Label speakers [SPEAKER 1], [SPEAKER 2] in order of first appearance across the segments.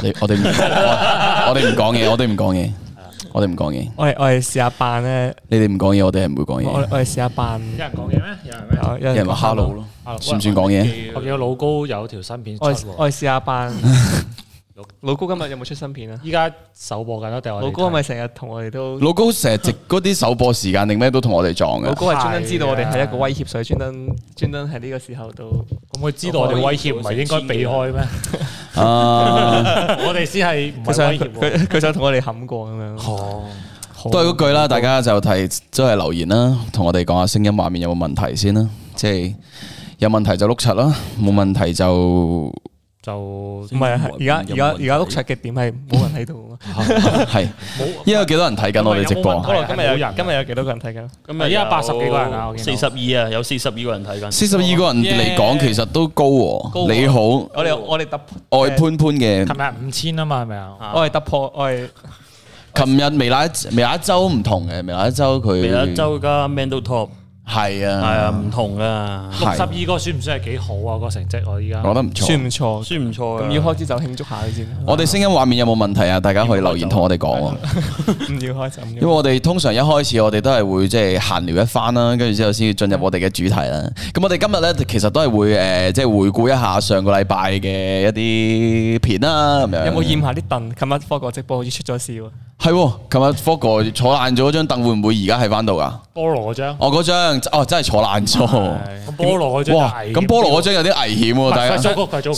[SPEAKER 1] 我哋唔講嘢，我哋唔講嘢。我哋
[SPEAKER 2] 試下扮咧。
[SPEAKER 1] 你哋唔講嘢，我哋係唔會講嘢。
[SPEAKER 2] 我哋試下扮。
[SPEAKER 3] 有人講嘢咩？
[SPEAKER 1] 有人話 hello 咯，算唔算講嘢？
[SPEAKER 3] 我見到老高有條新片出喎。
[SPEAKER 2] 我哋試下扮。老高今日有冇出新片啊？
[SPEAKER 3] 依家首播緊咯，定我哋
[SPEAKER 2] 老高係咪成日同我哋都？
[SPEAKER 1] 老高成日直嗰啲首播時間定咩都同我哋撞嘅。
[SPEAKER 2] 老高係專登知道我哋係一個威脅，所以專登喺呢個時候都。
[SPEAKER 3] 咁佢知道我哋威脅，唔係應該避開咩？我哋先係唔係威脅？
[SPEAKER 2] 佢想同我哋冚過咁樣。
[SPEAKER 3] 哦，
[SPEAKER 1] 都係嗰句啦，大家就都係留言啦，同我哋講下聲音畫面有冇問題先啦。即係有問題就碌柒啦，冇問題就
[SPEAKER 2] 唔係啊！而家碌柒嘅點係冇人喺度
[SPEAKER 1] 係，依家有幾多人睇緊我哋直播？
[SPEAKER 2] 今日有幾多個人睇緊？
[SPEAKER 3] 今日依家80幾個人啊
[SPEAKER 4] ，42啊，有42個人睇緊。
[SPEAKER 1] 42個人嚟講，其實都高喎。你好，
[SPEAKER 2] 我哋突破
[SPEAKER 1] 愛潘嘅。
[SPEAKER 3] 琴日5000啊嘛，係咪啊？
[SPEAKER 2] 我係突破，我係。
[SPEAKER 1] 琴日微辣一周唔同嘅，微辣一周佢。
[SPEAKER 4] 微辣一周加 Man to Top。
[SPEAKER 1] 係啊，
[SPEAKER 4] 唔同啊。
[SPEAKER 3] 62個算唔算係幾好啊？個成績我依家
[SPEAKER 1] 我覺得唔錯，
[SPEAKER 2] 算唔錯。咁要開始就慶祝下先。
[SPEAKER 1] 我哋聲音畫面有冇問題啊？大家可以留言同我哋講。
[SPEAKER 2] 唔要開就。
[SPEAKER 1] 因為我哋通常一開始我哋都係會即係閒聊一番啦，跟住之後先進入我哋嘅主題啦。咁我哋今日咧其實都係會即係回顧一下上個禮拜嘅一啲片啦。咁樣
[SPEAKER 2] 有冇驗下啲凳？琴日科哥直播好似出咗事喎。
[SPEAKER 1] 係，琴日科哥坐爛咗嗰張凳，會唔會而家喺翻度噶？
[SPEAKER 3] 菠蘿嗰張。
[SPEAKER 1] 嗰張真係坐爛咗。
[SPEAKER 3] 菠蘿嗰張
[SPEAKER 1] 哇！咁菠蘿嗰張有啲危險喎，大家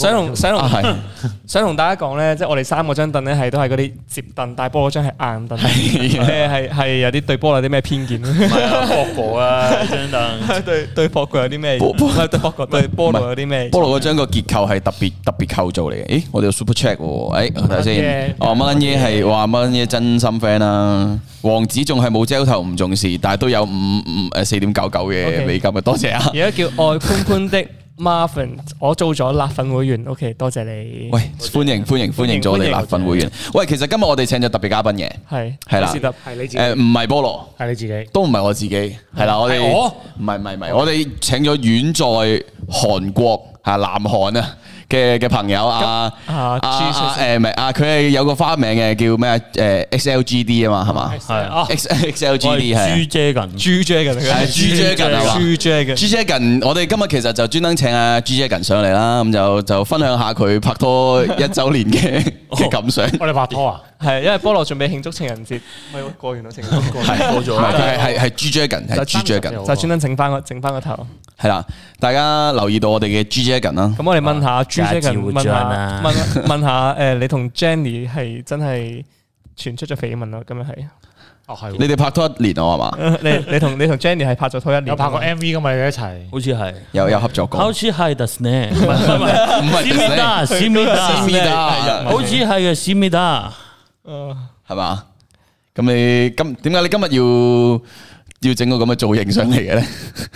[SPEAKER 2] 想同大家講咧，即係我哋3個張凳咧係都係嗰啲摺凳，但係菠蘿嗰張係硬凳，係有啲對菠蘿有啲咩偏見？
[SPEAKER 4] 唔係啊，科哥啊張凳，
[SPEAKER 2] 對科哥有啲咩？對科哥對菠蘿有啲咩？
[SPEAKER 1] 菠蘿嗰張個結構係特別構造嚟嘅。咦，我哋有 super check 喎，睇下先。乜撚嘢係話乜撚嘢真心 friend 啦？王子仲係冇焦頭唔重視，但係都有4.99嘅美金嘅，多謝啊！
[SPEAKER 2] 而家叫愛潘潘的 Marvin， 我做咗辣粉會員 ，OK， 多謝你。
[SPEAKER 1] 喂，歡迎做我哋辣粉會員。喂，其實今日我哋請咗特別嘉賓嘅，係啦，
[SPEAKER 3] 係你自己，
[SPEAKER 1] 唔係菠蘿，
[SPEAKER 3] 係你自己，
[SPEAKER 1] 都唔係我自己，係啦，我哋唔係，我哋請咗遠在韓國南韓啊嘅朋友佢係有個花名嘅，叫咩XLGD 啊嘛，係嘛？係 XLGD 係
[SPEAKER 2] 朱
[SPEAKER 1] Dragon，我哋今日其實就專登請阿朱 Dragon 上嚟啦，咁就分享下佢拍拖1週年嘅感想。
[SPEAKER 3] 我哋拍拖啊？
[SPEAKER 2] 係，因為菠蘿準備慶祝情人節，咪過完咯，情人節過
[SPEAKER 1] 咗，係朱 Dragon，係朱 Dragon，
[SPEAKER 2] 就專登整翻個頭。
[SPEAKER 1] 係啦，大家留意到我哋嘅朱 Dragon 啦。
[SPEAKER 2] 咁我哋問下朱 Dragon，問下你同 Jenny 係真係傳出咗緋聞咯？咁樣係。
[SPEAKER 1] 係。你哋拍拖1年啊嘛？
[SPEAKER 2] 你同 Jenny 係拍咗拖1年。有
[SPEAKER 3] 拍過 MV 噶嘛？你哋一齊？
[SPEAKER 4] 好似係。
[SPEAKER 1] 有合作過。
[SPEAKER 4] 好似係得呢？
[SPEAKER 1] 唔係。
[SPEAKER 4] 思密達，好似係嘅思密達。
[SPEAKER 1] 係嘛？咁你點解你今日要整個咁嘅造型上嚟嘅咧？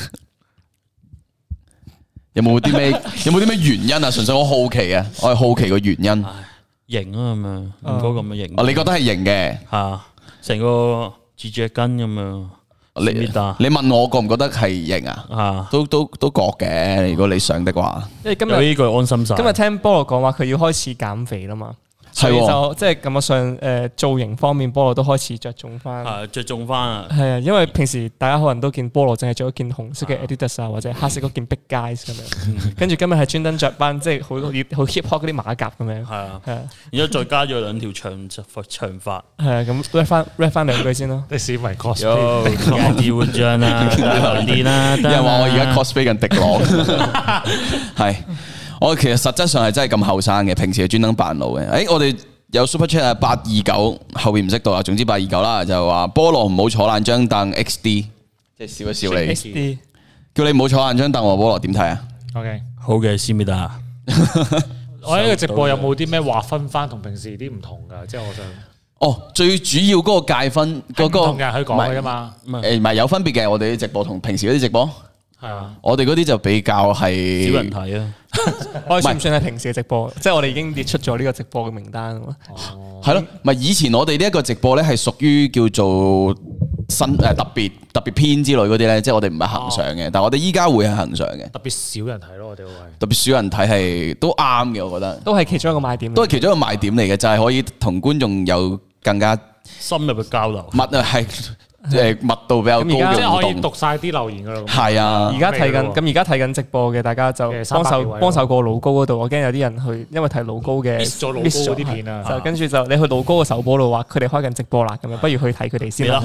[SPEAKER 1] 有冇啲咩原因啊？純粹我好奇啊，我係好奇個原因。
[SPEAKER 4] 型啊咁樣，唔該咁嘅型。
[SPEAKER 1] 你覺得係型嘅？
[SPEAKER 4] 吓，成個蜘蛛根咁樣。
[SPEAKER 1] 你問我覺唔覺得係型啊？
[SPEAKER 4] 啊，
[SPEAKER 1] 都覺嘅。如果你想的話，
[SPEAKER 2] 因為今日
[SPEAKER 4] 呢句安心晒。
[SPEAKER 2] 今日聽菠蘿講話，佢要開始減肥啦嘛。所以就即係感覺上造型方面，菠蘿都開始着重翻。
[SPEAKER 4] 着重翻啊！
[SPEAKER 2] 係啊，因為平時大家可能都見菠蘿淨係着一件紅色嘅 Adidas 啊，或者黑色嗰件 Big Guys 咁樣。跟住今日係專登着翻即係好 hip hop 嗰啲馬甲咁樣。係啊，然
[SPEAKER 4] 之後再加咗2條長髮。
[SPEAKER 2] 係啊，咁 rap 翻2句先咯。
[SPEAKER 3] 啲市民 cosplay，
[SPEAKER 4] 啲活將啦，啲啦。
[SPEAKER 1] 有人話我而家 cosplay 緊迪朗，係。我其實實質上係真係咁後生嘅，平時係專登扮老嘅。我哋有 super chat 啊，829後邊唔識讀啊，總之829啦，就話菠蘿唔好坐爛張凳 XD， 即係笑一笑你。XD 叫你唔好坐爛張凳喎，菠蘿點睇啊
[SPEAKER 3] ？OK，
[SPEAKER 4] 好嘅，思密達。
[SPEAKER 3] 我呢個直播有冇啲咩劃分翻同平時啲唔同㗎？即係我想。
[SPEAKER 1] 最主要嗰個界分嗰個
[SPEAKER 3] 同人去講嘅啫嘛。
[SPEAKER 1] 唔係有分別嘅，我哋啲直播同平時嗰啲直播。
[SPEAKER 3] 係啊，
[SPEAKER 1] 我哋嗰啲就比較係
[SPEAKER 4] 少人睇啊。
[SPEAKER 2] 我算唔算係平時嘅直播？即係我哋已經列出咗呢個直播嘅名單啊嘛。
[SPEAKER 1] 係咯，唔係以前我哋呢一個直播咧係屬於叫做特別篇之類嗰啲咧，即係我哋唔係恒常嘅，但係我哋依家會係恒常嘅。
[SPEAKER 3] 特別少人睇咯，我哋會
[SPEAKER 1] 特別少人睇係都啱嘅，我覺得
[SPEAKER 2] 都係其中一個賣點，
[SPEAKER 1] 都係其中一個賣點嚟嘅，就係可以同觀眾有更加
[SPEAKER 4] 深入嘅交流。
[SPEAKER 1] 密度比較高
[SPEAKER 3] 即
[SPEAKER 1] 嘅互
[SPEAKER 3] 係可以讀
[SPEAKER 1] 動。
[SPEAKER 3] 晒啲留言噶啦。
[SPEAKER 1] 係啊，
[SPEAKER 2] 而家睇緊直播嘅，大家就幫手過老高嗰度。我驚有啲人去，因為睇老高嘅
[SPEAKER 3] miss 咗老高嗰啲片啊，
[SPEAKER 2] 就跟住就你去老高嘅首播度話佢哋開緊直播啦，咁樣不如去睇佢哋先啦。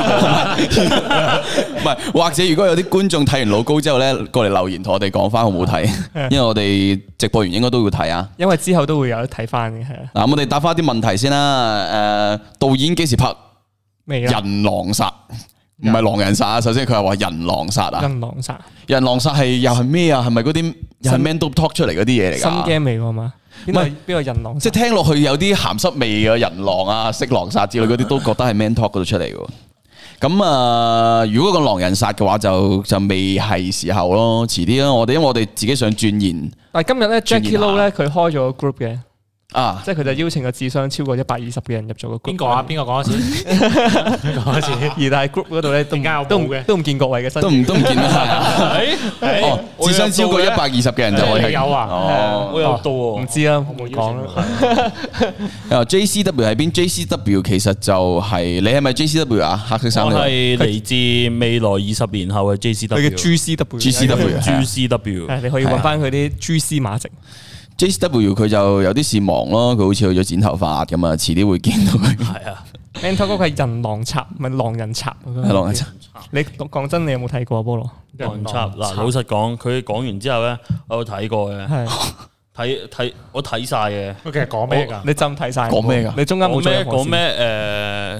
[SPEAKER 1] 唔係，或者如果有啲觀眾睇完老高之後咧，過嚟留言同我哋講翻好唔好睇，因為我哋直播完應該都會睇啊。
[SPEAKER 2] 因為之後都會有得睇翻嘅，係啊。
[SPEAKER 1] 嗱，我哋答翻啲問題先啦。導演幾時拍人狼殺？唔係狼人殺啊！首先佢係話人狼殺啊！人狼殺係又係咩啊？係咪嗰啲又係 Man Talk 出嚟嗰啲嘢嚟㗎？
[SPEAKER 2] 新 game 嚟㗎嘛？邊個人狼？
[SPEAKER 1] 即係聽落去有啲鹹濕味嘅人狼啊、色狼殺之類嗰啲，都覺得係 Man Talk 嗰度出嚟嘅。咁啊，如果個狼人殺嘅話，就未係時候咯，遲啲咯。因為我哋自己想鑽研。
[SPEAKER 2] 但係今日咧 Jackie Lou 咧，佢開咗個 group 嘅。
[SPEAKER 1] 啊！
[SPEAKER 2] 即係佢就邀請個智商超過120嘅人入咗個 group。
[SPEAKER 3] 邊個啊？邊個講一次？講一次。
[SPEAKER 2] 而但係 group 嗰度咧都唔見各位嘅身，都唔
[SPEAKER 1] 見啦。智商超過120嘅人就可以
[SPEAKER 3] 有啊。
[SPEAKER 4] 我有到喎，
[SPEAKER 2] 唔知啦，冇講啦。
[SPEAKER 1] JCW 喺邊 ？JCW 其實就係你係咪 JCW 啊？黑色衫。
[SPEAKER 4] 我係嚟自未來20年後嘅 JCW。
[SPEAKER 2] 佢嘅
[SPEAKER 1] GCW。
[SPEAKER 2] 你可以揾翻佢啲蛛絲馬跡。
[SPEAKER 1] JCW 佢就有啲事忙咯，佢好似去咗剪頭髮咁啊，遲啲會見到佢。
[SPEAKER 4] 係啊
[SPEAKER 2] Man Talk 嗰個係人狼插，唔係狼人插。
[SPEAKER 1] 係狼人插。
[SPEAKER 2] 你講真，你有冇睇過菠蘿？
[SPEAKER 4] 狼人插嗱，老實講，佢講完之後咧，我有睇過嘅。睇我睇晒嘅。
[SPEAKER 3] 其實講咩㗎？
[SPEAKER 2] 你真睇晒？
[SPEAKER 1] 講咩㗎？
[SPEAKER 2] 你中間冇咩
[SPEAKER 4] 講咩？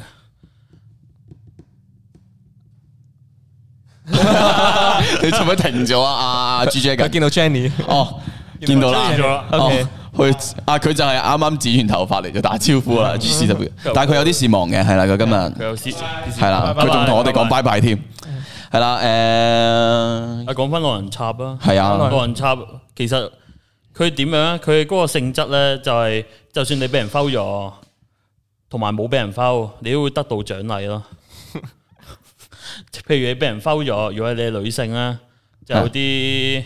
[SPEAKER 1] 你做咩停咗啊？阿 GJ
[SPEAKER 2] 我見到 Jenny。
[SPEAKER 1] 哦。見到啦，佢就係啱啱剪完頭髮嚟就打招呼啦，GCW。但係佢有啲事忙嘅，係啦，佢今日
[SPEAKER 4] 佢有事，
[SPEAKER 1] 係啦，佢仲同我哋講拜拜添，係啦，
[SPEAKER 4] 講翻狼人插啊，
[SPEAKER 1] 係啊，
[SPEAKER 4] 狼人插其實佢點樣？佢嗰個性質咧就係，就算你俾人 foul 咗，同埋冇俾人 foul，你都會得到獎勵咯。譬如你俾人 foul 咗，如果你係女性咧，就有啲。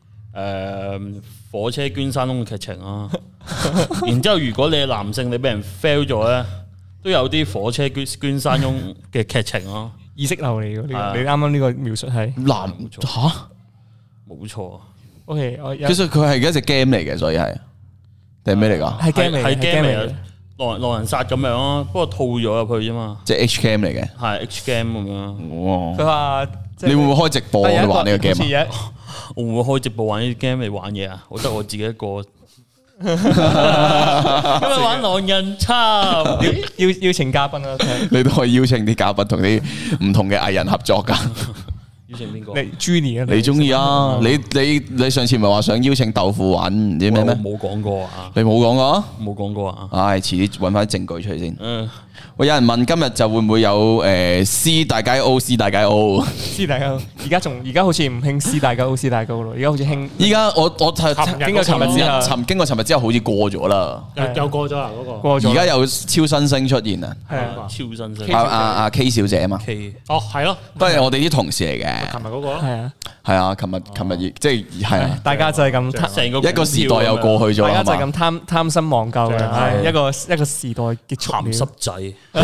[SPEAKER 4] 火車捐山窿嘅劇情啊，然之後如果你係男性，你俾人 fail 咗咧，都有啲火車捐山窿嘅劇情咯。
[SPEAKER 2] 意識流嚟嘅，你啱啱呢個描述係
[SPEAKER 1] 男吓，
[SPEAKER 4] 冇錯。
[SPEAKER 2] OK，
[SPEAKER 1] 其實佢係一隻 game 嚟嘅，所以係定係咩嚟㗎？
[SPEAKER 2] 係 game 嚟，係 game 嚟。
[SPEAKER 4] 狼人殺咁樣咯，不過套咗入去啫嘛。
[SPEAKER 1] 即係 H game 嚟嘅，
[SPEAKER 4] 係 H game 咁樣。
[SPEAKER 2] 佢話
[SPEAKER 1] 你會唔會開直播玩呢個 game 啊？
[SPEAKER 4] 我唔會開直播玩呢啲 game 嚟玩嘢啊！我得我自己一個。今日玩狼人插，
[SPEAKER 2] 邀請嘉賓啊！
[SPEAKER 1] 你都可以邀請啲嘉賓同啲唔同嘅藝人合作噶。
[SPEAKER 4] 邀請邊個？
[SPEAKER 2] 你 Jenny 啊？
[SPEAKER 1] 你中意啊？你上次咪話想邀請豆腐玩唔知咩咩？
[SPEAKER 4] 冇講過啊！
[SPEAKER 1] 你冇講過？
[SPEAKER 4] 冇講過啊！
[SPEAKER 1] 唉，遲啲揾翻啲證據出嚟先。喂，有人問今日就會唔會有C 大街 O C 大街 O
[SPEAKER 2] C 大街 O，而家好似唔興 C 大街 O C 大街 O 咯，而家好似興。
[SPEAKER 1] 依家我
[SPEAKER 2] 經過尋
[SPEAKER 1] 日之後好似過咗啦，
[SPEAKER 3] 又過咗啦嗰個。
[SPEAKER 2] 過咗。
[SPEAKER 1] 而家有超新星出現啊！
[SPEAKER 2] 係啊，
[SPEAKER 4] 超新星。
[SPEAKER 1] 阿 K 小姐啊嘛。
[SPEAKER 4] K。
[SPEAKER 3] 哦，係咯，
[SPEAKER 1] 都係我哋啲同事嚟嘅。
[SPEAKER 3] 琴日嗰個咯。
[SPEAKER 2] 係啊。
[SPEAKER 1] 係啊，琴日即係啊，
[SPEAKER 2] 大家就係咁
[SPEAKER 4] 成個
[SPEAKER 1] 一個時代又過去咗，
[SPEAKER 2] 大家就係咁貪新忘舊嘅，一個時代結束。
[SPEAKER 4] 鹹濕仔。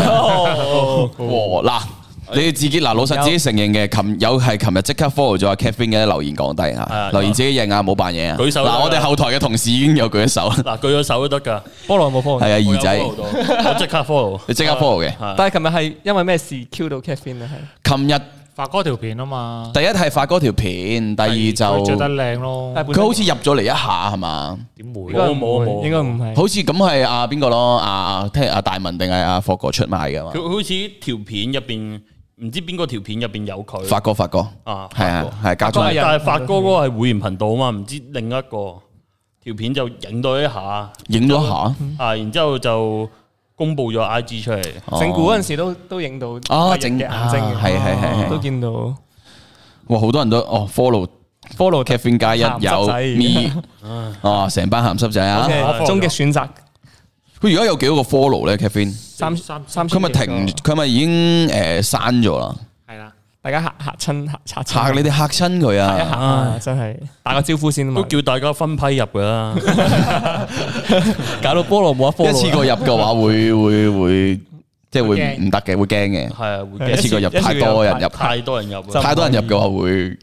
[SPEAKER 1] 嗱，你哋自己嗱，老實自己承認嘅，琴日即刻 follow 咗阿 Catherine 嘅留言講低啊，留言自己認啊，冇扮嘢啊。
[SPEAKER 4] 舉手。
[SPEAKER 1] 嗱，我哋後台嘅同事已經有舉咗手。
[SPEAKER 4] 嗱，舉咗手都得㗎。
[SPEAKER 2] 菠蘿冇 follow。
[SPEAKER 1] 係啊，二仔。
[SPEAKER 4] 我即刻 follow。
[SPEAKER 1] 你即刻 follow 嘅。
[SPEAKER 2] 但係琴日係因為咩事 Q 到 Catherine 咧？係。
[SPEAKER 1] 琴日。
[SPEAKER 3] 發哥條片啊嘛，
[SPEAKER 1] 第一係發哥條片，第二就
[SPEAKER 3] 着得靚咯。
[SPEAKER 1] 佢好似入咗嚟一下係嘛？
[SPEAKER 3] 點會？
[SPEAKER 4] 冇，
[SPEAKER 2] 應該唔係。
[SPEAKER 1] 好似咁係阿邊個咯？聽阿大文定係阿霍哥出賣㗎嘛？
[SPEAKER 4] 佢好似條片入邊唔知邊個條片入邊有佢。
[SPEAKER 1] 發哥
[SPEAKER 4] 啊，
[SPEAKER 1] 係啊係加咗。
[SPEAKER 4] 但係發哥嗰個係會員頻道啊嘛，唔知另一個條片就影到一下，然之後就。公布咗 IG 出嚟，
[SPEAKER 2] 整蠱嗰陣時都影到
[SPEAKER 1] 整
[SPEAKER 2] 嘅眼睛嘅，
[SPEAKER 1] 係
[SPEAKER 2] 都見到。
[SPEAKER 1] 哇！好多人都follow Catherine 加一有 me，成班鹹濕仔啊！
[SPEAKER 2] 終極選擇
[SPEAKER 1] 佢而家有幾多個 follow 咧 Kevin？
[SPEAKER 2] 三
[SPEAKER 1] 佢咪停？佢咪已經刪咗啦？
[SPEAKER 3] 係啦，
[SPEAKER 2] 大家嚇親
[SPEAKER 1] 嚇你哋嚇親佢
[SPEAKER 2] 一
[SPEAKER 1] 啊！
[SPEAKER 2] 下真係打個招呼先啊嘛
[SPEAKER 4] 都，叫大家分批入噶啦，
[SPEAKER 2] 搞到菠蘿冇得 follow
[SPEAKER 1] 一次過入嘅話會即係會唔得嘅，會驚嘅。
[SPEAKER 4] 係啊，會
[SPEAKER 1] 一次過入太多人入，
[SPEAKER 4] 太多人入，
[SPEAKER 1] 太多人入嘅話會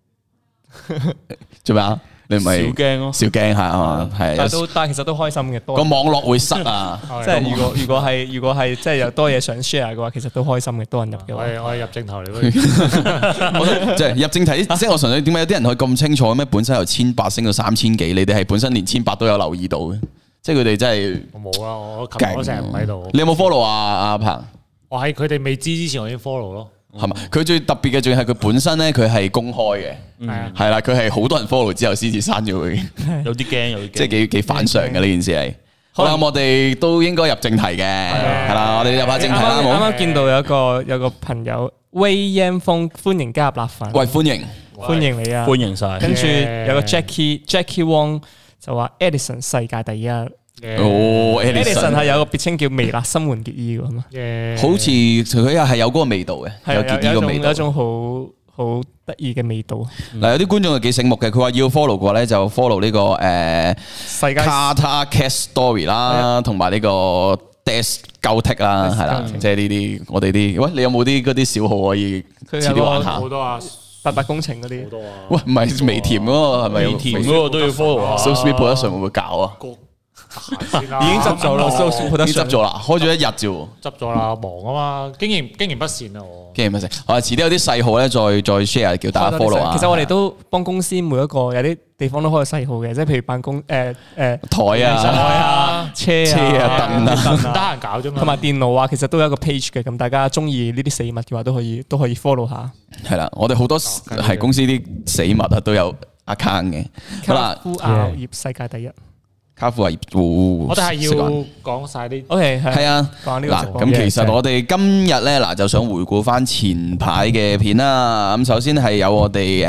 [SPEAKER 1] 做咩啊？你唔
[SPEAKER 4] 少
[SPEAKER 1] 係
[SPEAKER 4] 驚咯，
[SPEAKER 1] 少驚下啊？係
[SPEAKER 2] 但其實都開心嘅，多
[SPEAKER 1] 個網絡會塞啊！
[SPEAKER 2] 即係如果係即係有多嘢想 share 嘅話，其實都開心嘅，多人入嘅話。
[SPEAKER 3] 我係入正頭嚟，
[SPEAKER 1] 即係入正題，即係我純粹點解有啲人可以咁清楚咩？本身由1800升到3000幾，你哋係本身連1800都有留意到嘅，即係佢哋真係
[SPEAKER 3] 我冇啊，我琴日我成日唔喺度。
[SPEAKER 1] 你有冇 follow 啊？阿鵬
[SPEAKER 3] 我喺佢哋未知之前，我已經 follow 咯。
[SPEAKER 1] 係嘛？佢最特別嘅仲係佢本身咧，佢係公開嘅，
[SPEAKER 3] 係啊，
[SPEAKER 1] 係啦，佢係好多人 follow 之後先至刪咗佢，
[SPEAKER 4] 有啲驚，有啲驚，
[SPEAKER 1] 即係幾反常嘅呢件事係。好啦，咁我哋都應該入正題嘅，係啦，我哋入下正題啦，
[SPEAKER 2] 啱
[SPEAKER 1] 好。
[SPEAKER 2] 啱見到有個朋友威煙風歡迎加入辣粉，
[SPEAKER 1] 喂，歡迎，
[SPEAKER 2] 歡迎你啊！
[SPEAKER 4] 歡迎晒。
[SPEAKER 2] 跟住有個 Jackie Wong 就話 Edison 世界第一。
[SPEAKER 1] 哦
[SPEAKER 2] Edison 係有個別稱叫微辣新垣結衣㗎嘛，
[SPEAKER 1] 好似佢又係有嗰個味道嘅，有結衣個味道，
[SPEAKER 2] 有一種好得意嘅味道。
[SPEAKER 1] 嗱，有啲觀眾係幾醒目嘅，佢話要 follow 嘅話咧，就 follow 呢個
[SPEAKER 2] 世界
[SPEAKER 1] Carter Cat Story 啦，同埋呢個 Death 鳩剔啦，係啦，即係呢啲我哋啲。喂，你有冇啲嗰啲小號可以遲啲玩下？
[SPEAKER 3] 好多啊
[SPEAKER 2] ，88工程嗰啲。好
[SPEAKER 3] 多啊！
[SPEAKER 1] 喂，唔係微甜嗰個係咪？
[SPEAKER 4] 微甜嗰個都要 follow 啊
[SPEAKER 1] So Sweet Production 會唔會搞啊？
[SPEAKER 2] 已經執咗啦，So Sweet Production
[SPEAKER 1] 已經執咗啦，開咗一日啫喎。
[SPEAKER 3] 執咗啦，忙啊嘛，經營不善啊我。
[SPEAKER 1] 經營不善，我遲啲有啲細號咧，再 share 叫大家 follow 啊。
[SPEAKER 2] 其實我哋都幫公司每一個有啲地方都開細號嘅，即係譬如辦公
[SPEAKER 1] 台啊、
[SPEAKER 2] 車
[SPEAKER 1] 啊、凳啊，
[SPEAKER 3] 唔得閒搞啫嘛。
[SPEAKER 2] 同埋電腦啊，其實都有一個 page 嘅，咁大家中意呢啲死物嘅話，都可以 follow 下。
[SPEAKER 1] 係啦，我哋好多係公司啲死物啊都有 account 嘅。好啦，
[SPEAKER 2] 卡夫熬業世界第一。
[SPEAKER 1] 卡夫亞葉，
[SPEAKER 3] 我哋係要講晒啲。
[SPEAKER 2] OK，
[SPEAKER 1] 係啊。嗱，咁其實我哋今日咧嗱，就想回顧翻前排嘅片啦。咁首先係有我哋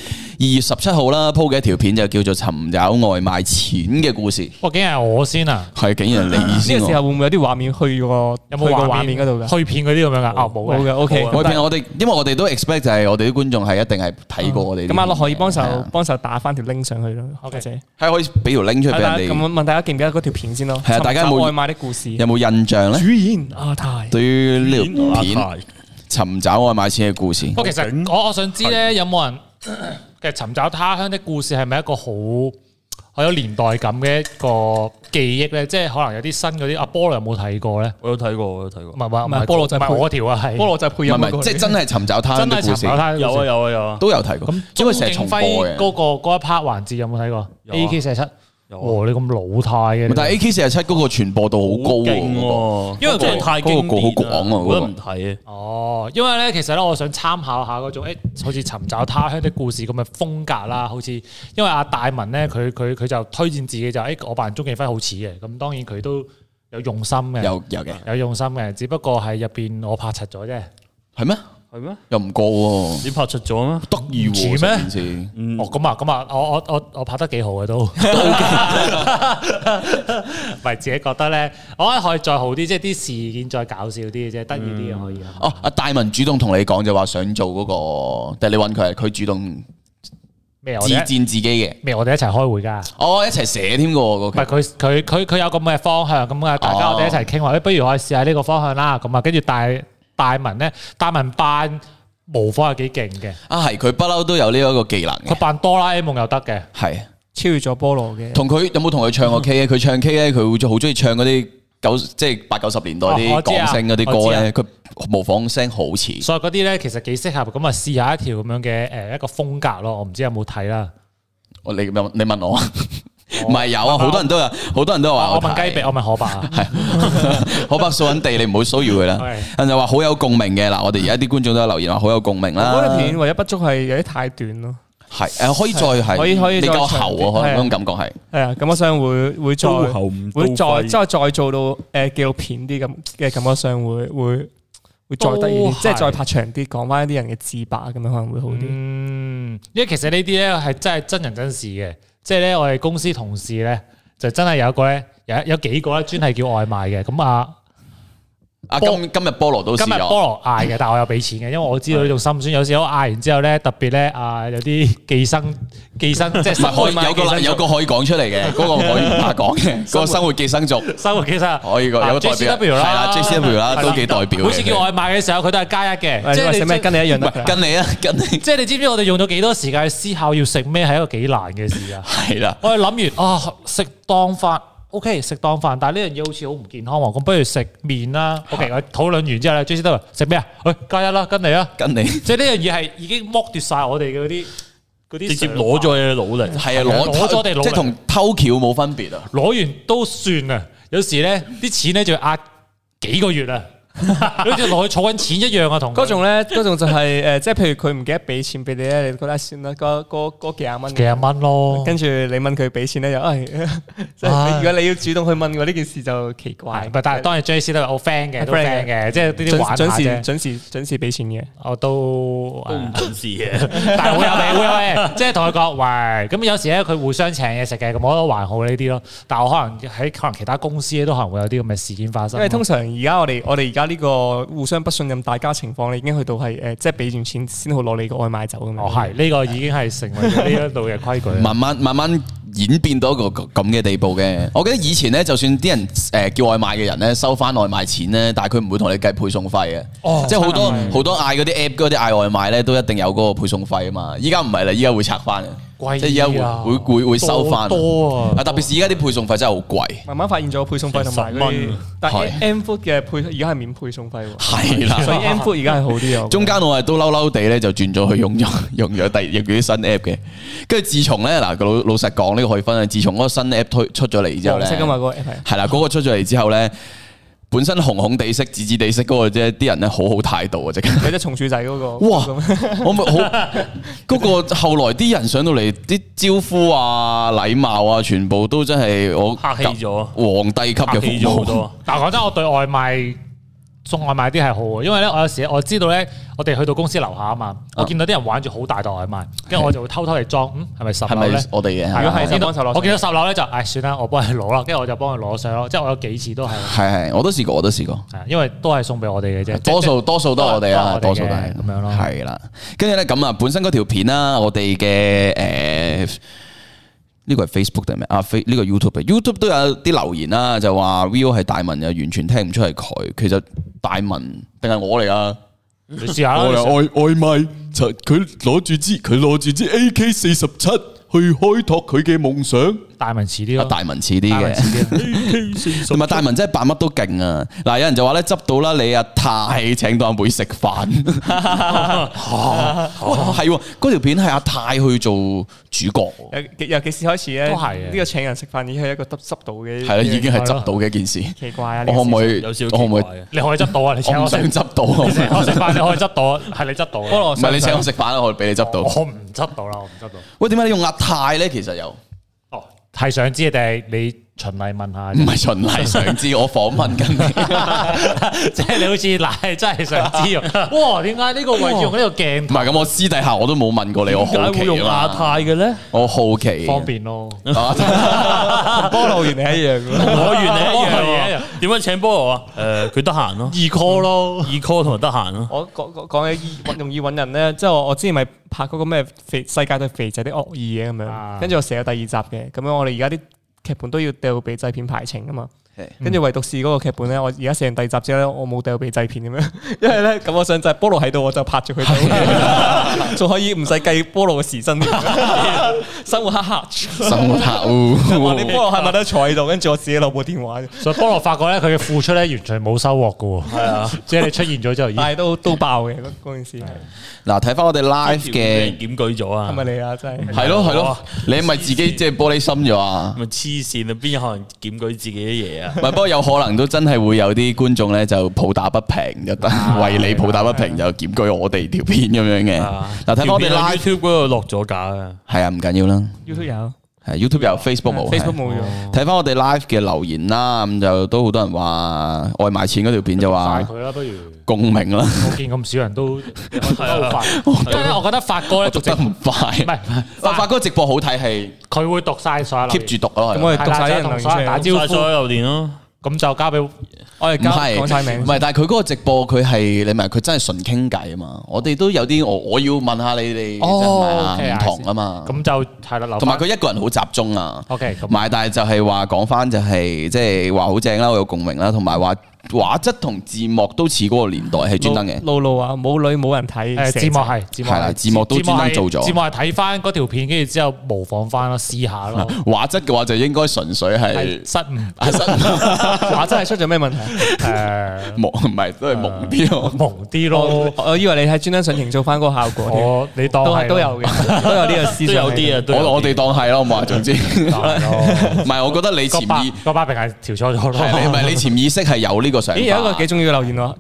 [SPEAKER 1] 2月17號啦鋪嘅一條片，就叫做尋找外賣錢嘅故事。
[SPEAKER 3] 哇，竟然係我先啊！
[SPEAKER 1] 係竟然係你先。
[SPEAKER 2] 呢個時候會唔會有啲畫面去個
[SPEAKER 3] 有冇
[SPEAKER 2] 畫面嗰度嘅？
[SPEAKER 3] 去片嗰啲咁樣噶？哦，冇嘅。
[SPEAKER 2] OK。
[SPEAKER 1] 因為我哋都 expect 就係我哋啲觀眾係一定係睇過我哋。
[SPEAKER 2] 咁阿樂可以幫手打翻條 link 上去咯。或者
[SPEAKER 1] 係可以俾條 link 出嚟俾人哋。
[SPEAKER 2] 咁問大家記唔記得嗰條片先咯？
[SPEAKER 1] 係啊，大家有冇
[SPEAKER 2] 外賣的故事？
[SPEAKER 1] 有冇印象咧？
[SPEAKER 2] 主演阿泰。
[SPEAKER 1] 對於呢條片尋找外賣錢嘅故事。
[SPEAKER 3] 不過其實我想知咧，有冇人嘅尋找他鄉的故事係咪一個好有年代感嘅一個記憶咧？即係可能有啲新嗰啲。阿菠蘿有冇睇過咧？
[SPEAKER 4] 我有睇過。
[SPEAKER 3] 唔係菠蘿就係我條啊，係
[SPEAKER 2] 菠蘿就係配音。
[SPEAKER 1] 唔係，即係真係尋找他鄉的故事。
[SPEAKER 4] 有啊，
[SPEAKER 1] 都有睇過。
[SPEAKER 3] 咁
[SPEAKER 1] 因為成日重播嘅
[SPEAKER 3] 嗰一 part 環節有冇睇過？AK47。你咁老態嘅，
[SPEAKER 1] 但係 AK47嗰個傳播度好高喎，
[SPEAKER 4] 因為真係太經典，
[SPEAKER 1] 好廣啊，
[SPEAKER 4] 我覺得唔睇啊。
[SPEAKER 3] 哦，因為咧，其實咧，我想參考下嗰種好似尋找他鄉的故事咁嘅風格啦。好似因為阿大文咧，佢就推薦自己就我扮鍾景輝好似嘅。咁當然佢都有用心嘅，有用心嘅，只不過係入邊我拍柒咗啫。
[SPEAKER 1] 係咩？
[SPEAKER 4] 係咩？
[SPEAKER 1] 又唔過喎，
[SPEAKER 4] 你拍出咗咩？
[SPEAKER 1] 得意喎，
[SPEAKER 3] 似咩？哦，咁啊，我拍得幾好嘅都，唔係自己覺得咧，我覺得可以再好啲，即係啲事件再搞笑啲嘅啫，得意啲嘅可以。
[SPEAKER 1] 哦，阿大文主動同你講就話想做嗰個，但係你揾佢，佢主動
[SPEAKER 3] 咩？
[SPEAKER 1] 自薦自己嘅
[SPEAKER 3] 咩？我哋一齊開會㗎。
[SPEAKER 1] 哦，一齊寫添㗎喎，
[SPEAKER 3] 唔係佢有咁嘅方向，咁啊大家我哋一齊傾話，不如我哋試下呢個方向啦。咁啊，跟住大文咧，大文扮模仿係幾勁嘅。
[SPEAKER 1] 啊，係佢不嬲都有呢一個技能嘅。
[SPEAKER 3] 佢扮哆啦 A 夢又得嘅，
[SPEAKER 1] 係
[SPEAKER 2] 超越咗菠蘿嘅。
[SPEAKER 1] 同佢有冇同佢唱過 K 咧？佢唱 K 咧，佢會好中意唱嗰啲即係80、90年代啲港星嗰啲歌咧。佢模仿聲好似。
[SPEAKER 3] 所以嗰啲咧其實幾適合咁啊，試下一條咁樣嘅一個風格咯。我唔知有冇睇啦。
[SPEAKER 1] 你問我。唔係有啊，好多人都話
[SPEAKER 3] 我問雞髀，我問可伯啊，
[SPEAKER 1] 係可伯掃緊地，你唔好騷擾佢啦。人就話好有共鳴嘅嗱，我哋而家啲觀眾都有留言話好有共鳴啦。
[SPEAKER 2] 嗰條片唯一不足係有啲太短咯。
[SPEAKER 1] 係可以再係
[SPEAKER 2] 可以
[SPEAKER 1] 你夠喉啊，可能嗰種感覺係。
[SPEAKER 2] 係啊，感覺上會再做到紀錄片啲咁嘅感覺上會再得意啲，即係再拍長啲，講翻一啲人嘅自白咁樣可能會好啲。
[SPEAKER 3] 因為其實呢啲咧係真係真人真事嘅。即係咧，我哋公司同事咧就真係有一個咧，有幾個咧專係叫外賣嘅。咁
[SPEAKER 1] 今日菠蘿都試咗，
[SPEAKER 3] 今日菠蘿嗌嘅，但係我有俾錢嘅，因為我知道呢種心酸。有時我嗌完之後咧，特別咧有啲寄生即係
[SPEAKER 1] 有個可以講出嚟嘅，嗰個可以唔怕講嘅，嗰個生活寄生族，
[SPEAKER 3] 生活寄生
[SPEAKER 1] 可以個有個代表係啦 JCW 啦，都幾代表。
[SPEAKER 3] 每次叫外賣嘅時候，佢都係加一嘅，即係
[SPEAKER 2] 食咩跟你一樣得。
[SPEAKER 1] 跟你啊，跟你。
[SPEAKER 3] 即係你知唔知我哋用咗幾多時間去思考要食咩係一個幾難嘅事啊？
[SPEAKER 1] 係啦，
[SPEAKER 3] 我哋諗完食當飯。OK， 食當飯，但係呢樣嘢好似好唔健康喎。咁不如食麵啦。OK， 我討論完之後咧，J C 都話食咩啊？喂，加一啦，跟你啦，
[SPEAKER 1] 跟你。
[SPEAKER 3] 即係呢樣嘢係已經剝奪晒我哋嘅嗰啲，
[SPEAKER 4] 直接攞咗你嘅努力。
[SPEAKER 1] 係啊，攞咗我哋努力，即係同偷橋冇分別啊。
[SPEAKER 3] 攞完都算啊，有時咧啲錢咧就要壓幾個月啊。好似落去儲緊錢一樣啊，同
[SPEAKER 2] 嗰種咧，嗰種就係即係譬如佢唔記得俾錢俾你咧，你覺得算啦，嗰幾廿蚊
[SPEAKER 3] 咯。跟
[SPEAKER 2] 住你問佢俾錢咧，就即係如果你要主動去問我呢件事就奇怪。
[SPEAKER 3] 但係當然 JC 都係好 friend 嘅，都 friend 嘅，即係呢啲玩下啫。準時俾錢嘅，我都
[SPEAKER 4] 唔準時嘅，
[SPEAKER 3] 但係會有嘅，即係同佢講喂，咁有時咧佢互相請嘢食嘅，咁我覺得還好呢啲咯。但係我可能喺其他公司咧都可能會有啲咁嘅事件發生。
[SPEAKER 2] 因為通常而家我哋而家呢個互相不信任大家情況，你已經去到係即係俾完錢先好攞你個外賣走咁樣。
[SPEAKER 3] 係呢個已經係成為呢一度嘅規矩。
[SPEAKER 1] 慢慢演變到一個咁嘅地步嘅。我記得以前咧，就算啲人叫外賣嘅人咧收翻外賣錢咧，但係佢唔會同你計配送費嘅。即係好多嗌嗰啲 app 嗰啲嗌外賣咧，都一定有嗰個配送費啊嘛。依家唔係啦，依家會拆翻嘅。即係而家會收翻，
[SPEAKER 3] 多啊！
[SPEAKER 1] 特別是而家啲配送費真係好貴。
[SPEAKER 2] 慢慢發現咗配送費同埋嗰啲，但係 M Food 嘅而家係免配送費喎。
[SPEAKER 1] 係啦，
[SPEAKER 2] 所以 M Food 而家係好啲啊。
[SPEAKER 1] 中間我係都嬲地咧，就轉咗去用咗啲新 app 嘅。跟住自從咧嗱，老實講呢個可以分享。自從嗰個新 app 出咗嚟之後咧，
[SPEAKER 2] 黃色㗎嘛嗰個 app
[SPEAKER 1] 係啦，嗰個出咗嚟之後咧。本身紅紅地色、紫紫地色嗰個啫，啲人咧好態度啊！即係
[SPEAKER 2] 有隻松鼠仔嗰個，
[SPEAKER 1] 哇！我咪好嗰個後來啲人上到嚟，啲招呼啊、禮貌啊，全部都真係我
[SPEAKER 4] 客氣咗，
[SPEAKER 1] 皇帝級嘅服務好多。
[SPEAKER 3] 但係講真，我對外賣送外賣啲係好嘅，因為咧我有時我知道咧，我哋去到公司樓下啊嘛，我見到啲人玩住好大袋外賣，跟住我就會偷偷嚟裝，係咪10樓咧？
[SPEAKER 1] 我哋嘅，
[SPEAKER 2] 如果係
[SPEAKER 3] 我見到10樓咧就，算啦，我幫你攞啦，跟住我就幫佢攞上咯，即係我有幾次都係。
[SPEAKER 1] 係，我都試過。係，
[SPEAKER 3] 因為都係送俾我哋嘅啫，
[SPEAKER 1] 多數都係我哋啦，多數都係
[SPEAKER 3] 咁樣咯。
[SPEAKER 1] 係啦，跟住咧咁啊，本身嗰條片啦，我哋嘅呢個係 Facebook 定咩啊？呢個 YouTube 都有啲留言啦，就話 Viu 係大文又完全聽唔出係佢，其實大文定係我嚟啊？
[SPEAKER 3] 你試下啦。
[SPEAKER 1] 外賣，佢攞住支AK47去開拓佢嘅夢想。
[SPEAKER 3] 大文似啲咯，
[SPEAKER 1] 大文似啲嘅，同埋大文真係扮乜都勁啊！嗱，有人就話咧，執到啦，你阿泰請到阿妹食飯，係嗰條片係阿泰去做主角。
[SPEAKER 2] 由幾時開始咧？
[SPEAKER 3] 都係
[SPEAKER 2] 呢個請人食飯已經係一個執到嘅，
[SPEAKER 1] 係啦，已經係執到嘅一件事。
[SPEAKER 2] 奇怪啊！
[SPEAKER 1] 我可唔可以？
[SPEAKER 4] 我可唔可以？
[SPEAKER 3] 你可以執到啊！你請我
[SPEAKER 1] 想執到，
[SPEAKER 3] 我食飯你可以執到，係你執到。
[SPEAKER 1] 唔係你請我食飯，我俾你執到。
[SPEAKER 3] 我唔執到啦，我唔執到。
[SPEAKER 1] 喂，點解你用阿泰咧？其實又
[SPEAKER 3] 係想知定係你循例問下？
[SPEAKER 1] 唔係循例想知，我訪問緊你，
[SPEAKER 3] 即係你好似嗱，真係想知哇？點解呢個位置用呢個鏡？
[SPEAKER 1] 唔係咁，我私底下我都冇問過你，我好奇啊嘛。
[SPEAKER 4] 用亞太嘅咧？
[SPEAKER 1] 我好奇，
[SPEAKER 3] 方便咯。
[SPEAKER 2] 菠蘿原嚟一樣，
[SPEAKER 4] 我原嚟一樣。點樣請菠蘿啊？佢得閒咯
[SPEAKER 3] ，call 咯
[SPEAKER 4] ，call 同埋得閒咯。
[SPEAKER 2] 我講起容易揾人咧，即係我之前咪拍嗰個咩世界對肥仔啲惡意嘅咁樣，跟住我寫咗第2集嘅，咁樣我哋而家啲劇本都要掉俾製片排程啊嘛，跟住唯獨是嗰個劇本咧，我而家寫完第2集之後咧，我冇掉俾製片咁樣，因為咧咁我想就係菠蘿喺度，我就拍住佢度，仲可以唔使計菠蘿嘅時薪，生活黑黑，
[SPEAKER 1] 生活黑，
[SPEAKER 2] 話你菠蘿係咪都坐喺度，跟住我自己攞部電話，
[SPEAKER 3] 所以菠蘿發覺咧佢嘅付出咧完全冇收穫噶喎，係啊，即係你出現咗之後，
[SPEAKER 2] 但係都爆嘅嗰件事。
[SPEAKER 1] 嗱，睇翻我哋 live 嘅
[SPEAKER 4] 檢舉咗啊，
[SPEAKER 2] 係咪你啊？真係
[SPEAKER 1] 係咯，你係咪自己即係玻璃心咗啊？
[SPEAKER 4] 咪黐線啊！邊有可能檢舉自己啲嘢啊？
[SPEAKER 1] 唔係，不過有可能都真係會有啲觀眾咧就抱打不平，就為你抱打不平就檢舉我哋條片咁樣嘅。嗱，睇翻我哋
[SPEAKER 4] YouTube 嗰度落咗架啊，
[SPEAKER 1] 係啊，唔緊要啦。
[SPEAKER 2] YouTube 有
[SPEAKER 1] 係 YouTube 有 Facebook 冇
[SPEAKER 2] Facebook 冇咗。
[SPEAKER 1] 睇翻我哋 live 嘅留言啦，咁就都好多人話外賣錢嗰條片就話
[SPEAKER 3] 快佢啦，不如
[SPEAKER 1] 共鳴啦。
[SPEAKER 3] 我見咁少人都好快，因為我覺得發哥咧
[SPEAKER 1] 讀得唔快，
[SPEAKER 3] 唔係
[SPEAKER 1] 發哥直播好睇係
[SPEAKER 3] 佢會讀晒所有留言
[SPEAKER 1] keep 住讀咯。
[SPEAKER 2] 咁我哋讀晒啲人
[SPEAKER 3] 同
[SPEAKER 2] 留言出嚟。
[SPEAKER 3] 所有人打招
[SPEAKER 4] 所有
[SPEAKER 3] 呼，
[SPEAKER 4] 留言咯。
[SPEAKER 3] 咁就交俾
[SPEAKER 2] 我哋
[SPEAKER 1] 唔係
[SPEAKER 2] 講晒名
[SPEAKER 1] 唔。係，但係佢嗰個直播佢係你明佢真係純傾偈啊嘛。我哋都有啲我要問下你哋
[SPEAKER 3] 哦
[SPEAKER 1] 真係唔同啊嘛。
[SPEAKER 3] 咁就係啦，留
[SPEAKER 1] 同埋佢一個人好集中啊。
[SPEAKER 3] OK 咁
[SPEAKER 1] 埋但係就係話講翻就係即係話好正啦，我有共鳴啦，同埋話畫質同字幕都似嗰個年代係專登嘅。
[SPEAKER 2] 露露啊，冇女冇人睇。
[SPEAKER 3] 字幕係
[SPEAKER 1] 係啦字幕都專登做咗
[SPEAKER 3] 字幕係睇翻嗰條片，跟住之後模仿翻咯，試下咯。
[SPEAKER 1] 畫質嘅話就應該純粹係
[SPEAKER 3] 失誤，
[SPEAKER 2] 畫質係出咗咩問題？
[SPEAKER 1] 蒙唔係都係蒙啲咯。
[SPEAKER 3] 蒙啲咯。
[SPEAKER 2] 我以為你係專登想營造翻嗰個效果。
[SPEAKER 3] 你當係
[SPEAKER 2] 都有嘅，都有呢個思
[SPEAKER 4] 都
[SPEAKER 2] 想。
[SPEAKER 4] 有啲啊，都有
[SPEAKER 1] 我哋當係咯，我話總之，唔係我覺得你潛意
[SPEAKER 3] 個把柄係調錯咗咯。
[SPEAKER 1] 係你唔係你潛意識係有呢個想法。
[SPEAKER 2] 咦，有一個幾重要嘅留言喎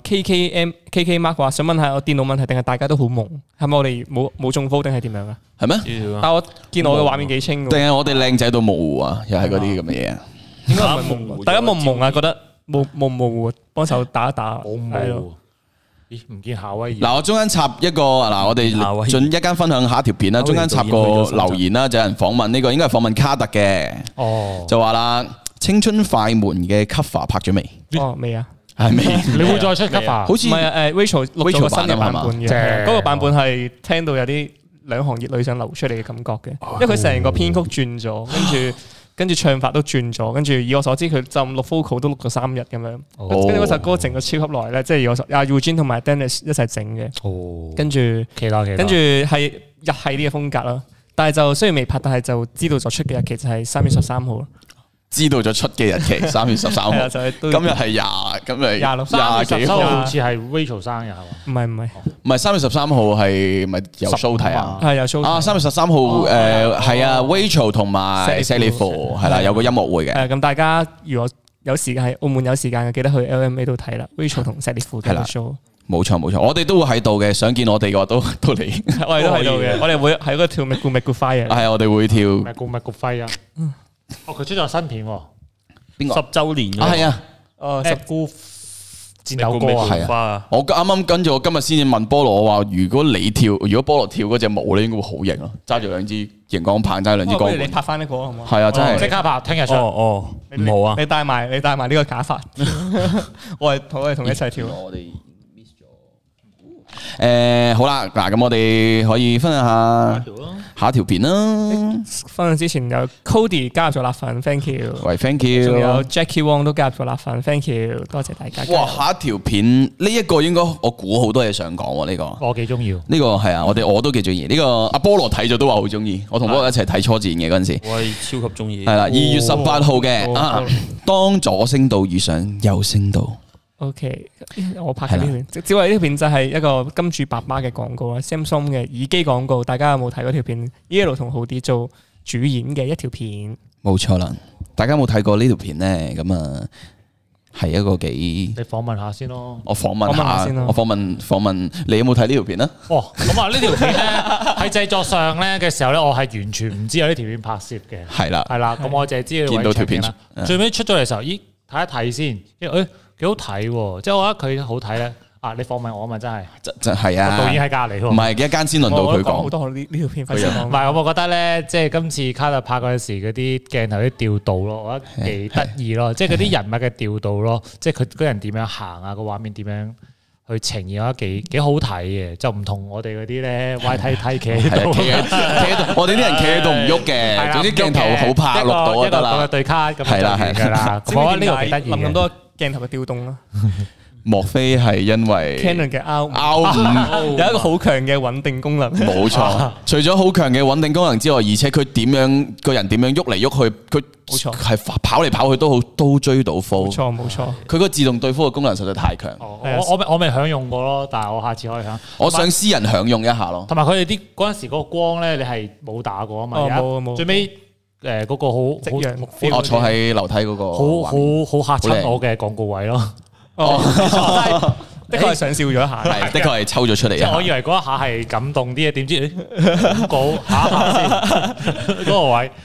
[SPEAKER 2] ，KK Mark 話想問下我電腦問題定係大家都好蒙？係咪我哋冇中風定係點樣啊？
[SPEAKER 1] 係咩？
[SPEAKER 2] 但我見我嘅畫面幾清
[SPEAKER 1] 定
[SPEAKER 2] 喎。
[SPEAKER 1] 係我哋靚仔到模糊啊？又係嗰啲咁嘅嘢啊？
[SPEAKER 2] 應該唔係蒙，大家蒙唔蒙啊？覺得冇模糊，幫手打一打。
[SPEAKER 3] 冇
[SPEAKER 2] 係咯。
[SPEAKER 3] 冇。咦？唔見夏威夷。
[SPEAKER 1] 嗱，我中間插一個嗱，我哋盡一間分享下一條片啦。中間插個留言啦，就有人訪問呢個應該係訪問卡特嘅，就話啦，青春快門嘅 cover 拍咗未？
[SPEAKER 2] 哦，未啊。
[SPEAKER 1] 係未？
[SPEAKER 3] 你會再出 cover？
[SPEAKER 1] 好似
[SPEAKER 2] 唔係Rachel 錄咗個新嘅版本嘅，
[SPEAKER 3] 正
[SPEAKER 2] 嗰個版本係聽到有啲兩行熱淚想流出嚟嘅感覺嘅，因為佢成個編曲轉咗，跟住唱法都轉咗，跟住以我所知佢就錄 vocal 都錄咗3日咁樣，跟住嗰首歌整咗超級耐咧，即係阿 Eugene 同埋 Dennis 一齊整嘅，跟住係日系啲嘅風格啦，但係就雖然未拍，但係就知道咗出嘅日期就係3月13號咯。
[SPEAKER 1] 知道咗出嘅日期3月13號，今日係今日
[SPEAKER 2] 26
[SPEAKER 3] 3月13號好似係 Rachel 生日係嘛？
[SPEAKER 1] 唔係3月13號係咪有 show 睇啊？
[SPEAKER 2] 係有 show 睇。
[SPEAKER 1] 3月13號係啊 Rachel 同埋 Sally Four 係啦，有個音樂會嘅。
[SPEAKER 2] 咁大家如果有時間喺澳門有時間嘅，記得去 LMA 度睇啦。Rachel 同 Sally Four 嘅 show。
[SPEAKER 1] 冇錯，我哋都會喺度嘅。想見我哋嘅話都嚟，
[SPEAKER 2] 我哋都喺度嘅。我哋會喺嗰個跳 Make Good Fire。
[SPEAKER 1] 係我哋會跳
[SPEAKER 3] Make Good Fire 啊！佢出咗新片喎，
[SPEAKER 1] 邊個
[SPEAKER 4] 10週年
[SPEAKER 1] 啊？係啊
[SPEAKER 3] ，Make Good 戰友歌啊！
[SPEAKER 1] 係啊！我啱啱跟住我今日先至問菠蘿，我話如果菠蘿跳嗰隻舞咧，應該會好型咯，揸住2支熒光棒，揸2支光。
[SPEAKER 2] 不如你拍翻呢個好唔好？
[SPEAKER 1] 係啊，真係
[SPEAKER 3] 即刻拍，聽日出。
[SPEAKER 4] 唔好啊！
[SPEAKER 2] 你帶埋呢個假髮，我哋同你一齊跳。
[SPEAKER 1] 我哋 miss 咗。好啦，嗱咁我哋可以分享下一條片啦。
[SPEAKER 2] 分享之前有 Cody 加入咗辣粉 ，thank you。
[SPEAKER 1] 喂 ，thank you。
[SPEAKER 2] 仲有 Jackie Wong 都加入咗辣粉 ，thank you，多謝大家。
[SPEAKER 1] 哇，下一條片呢一個應該我估好多嘢想講喎，呢個
[SPEAKER 3] 我幾中意。
[SPEAKER 1] 呢個係啊，我都幾中意。呢個阿菠蘿睇咗都話好中意，我同菠蘿一齊睇初戰嘅嗰陣時。
[SPEAKER 4] 我係超級中意。
[SPEAKER 1] 係啦，2月18號嘅當左聲道遇上右聲道。
[SPEAKER 2] OK， 我拍嘅呢片，只為呢條片就係一個金主爸爸嘅廣告啦 ，Samsung 嘅耳機廣告，大家有冇睇嗰條片 ？Yellow 同浩啲做主演嘅一條片，
[SPEAKER 1] 冇錯啦。大家有冇睇過呢條片咧？咁啊，係一個幾
[SPEAKER 3] 你訪問下先咯。
[SPEAKER 1] 我訪問下先咯。我訪問你有冇睇呢條片啊？
[SPEAKER 3] 哦，咁啊，呢條片咧喺製作上咧嘅時候咧，我係完全唔知有呢條片拍攝嘅。
[SPEAKER 1] 係啦，
[SPEAKER 3] 咁我淨係知
[SPEAKER 1] 見到條片
[SPEAKER 3] 啦。最尾出咗嚟嘅時候，咦，睇一睇先，幾好睇喎！即係我覺得佢好睇咧。你訪問我啊嘛，真係
[SPEAKER 1] 真係啊！
[SPEAKER 3] 導演喺隔離喎，
[SPEAKER 1] 唔係一間先輪到佢講
[SPEAKER 2] 好多呢條片。唔
[SPEAKER 3] 係我覺得咧，即係今次卡特拍嗰陣時嗰啲鏡頭啲調度咯，我覺得幾得意咯。即係嗰啲人物嘅調度咯，即係佢嗰人點樣行啊，個畫面點樣去呈現，我覺得幾好睇嘅。就唔同我哋嗰啲咧，YTT企喺度，
[SPEAKER 1] 我哋啲人企喺度唔喐嘅。總之鏡頭好拍錄到就得啦。
[SPEAKER 3] 一個對卡咁
[SPEAKER 1] 係啦
[SPEAKER 3] 係啦。我覺得呢個幾得意。
[SPEAKER 2] 諗咁多鏡頭嘅調動啦。
[SPEAKER 1] 莫非係因為
[SPEAKER 2] Canon 嘅 R5 有一個好強嘅穩定功能？
[SPEAKER 1] 冇錯，除咗好強嘅穩定功能之外，而且佢個人點樣喐嚟喐去，佢
[SPEAKER 2] 冇錯
[SPEAKER 1] 係跑嚟跑去都追到 full。
[SPEAKER 2] 冇錯。
[SPEAKER 1] 佢個自動對 full 嘅功能實在太強。
[SPEAKER 3] 我未享用過咯，但係我下次可以享。
[SPEAKER 1] 我想私人享用一下咯。
[SPEAKER 3] 同埋佢哋啲嗰陣時嗰個光咧，你係冇打過啊嘛？
[SPEAKER 2] 冇。
[SPEAKER 3] 最尾嗰個
[SPEAKER 1] 我坐喺樓梯嗰個，
[SPEAKER 3] 好嚇親我嘅廣告位咯。
[SPEAKER 2] 的確係想笑咗一下，
[SPEAKER 1] 係的確係抽咗出嚟。
[SPEAKER 3] 我以為嗰一下係感動啲嘅，點知廣告下先嗰個位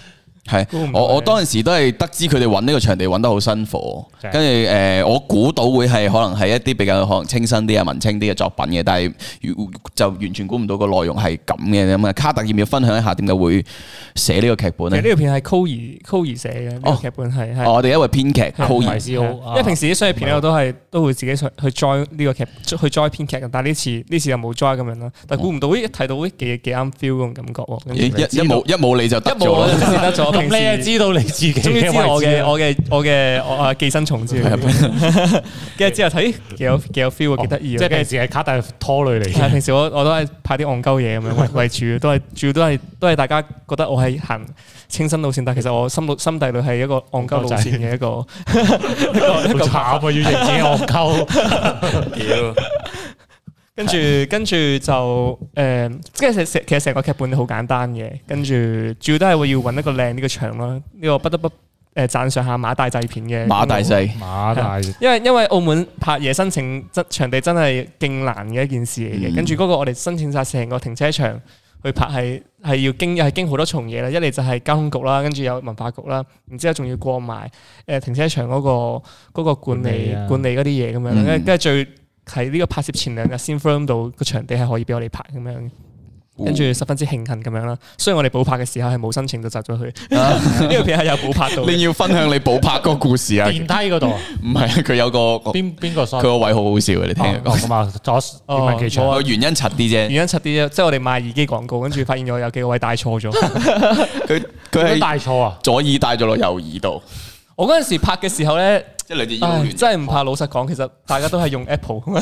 [SPEAKER 1] 係我當陣時都係得知佢哋揾呢個場地揾得好辛苦，跟住我估到會係可能係一啲比較可能清新啲啊文青啲嘅作品嘅，但係就完全估唔到個內容係咁嘅咁啊！卡特要唔要分享一下點解會寫呢個劇本咧？
[SPEAKER 2] 呢條片係 Coir 寫嘅，呢個劇本係
[SPEAKER 1] 我哋一位編劇 Coir，
[SPEAKER 2] 因為平時啲商業片咧我都會自己去 join 呢個劇去 join 編劇嘅，但係呢次又冇 join 咁樣啦。但係估唔到一睇到幾啱 feel 嗰種感覺喎，
[SPEAKER 1] 一冇你就得咗，
[SPEAKER 2] 得咗。
[SPEAKER 3] 咁你係知道你自己，
[SPEAKER 2] 終於知道我嘅寄生蟲之類，跟住之後睇幾有 feel 幾得意。
[SPEAKER 3] 即係平時係卡帶拖累嚟嘅。
[SPEAKER 2] 平時我都係拍啲戇鳩嘢咁樣為主，主要都係大家覺得我係行清新路線，但其實我心底裏係一個戇鳩路線嘅一個
[SPEAKER 3] 好慘啊！要認自己戇鳩。
[SPEAKER 2] 跟住就即係其實成個劇本好簡單嘅，跟住主要都係會要揾一個靚呢個場咯。呢個不得不讚賞下馬大製片嘅
[SPEAKER 1] 馬大製，
[SPEAKER 2] 因為澳門拍嘢申請場地真係勁難嘅一件事嚟嘅。跟住嗰個我哋申請晒成個停車場去拍係要經好多重嘢啦。一嚟就係交通局啦，跟住有文化局啦，然之後仲要過埋停車場嗰個管理嗰啲嘢咁樣，跟住最喺呢個拍攝前2日先 firm 到個場地係可以俾我哋拍咁樣，跟住十分之慶幸咁樣啦。雖然我哋補拍嘅時候係冇申請就執咗佢，呢個片係有補拍到。
[SPEAKER 1] 你要分享你補拍嗰個故事啊？
[SPEAKER 3] 電梯嗰度
[SPEAKER 1] 唔係佢有個
[SPEAKER 3] 邊個？佢
[SPEAKER 1] 個位好好笑嘅，你聽佢講
[SPEAKER 3] 咁啊，
[SPEAKER 1] 個原因柒啲啫，
[SPEAKER 2] 原因柒啲啫，即係我哋賣耳機廣告，跟住發現咗有幾個位帶錯咗。
[SPEAKER 1] 佢係
[SPEAKER 3] 帶錯啊，
[SPEAKER 1] 左耳帶咗落右耳度。
[SPEAKER 2] 我嗰陣時拍嘅時候咧，
[SPEAKER 1] 即係兩隻耳都亂，
[SPEAKER 2] 真係唔怕。老實講，其實大家都係用 Apple。唔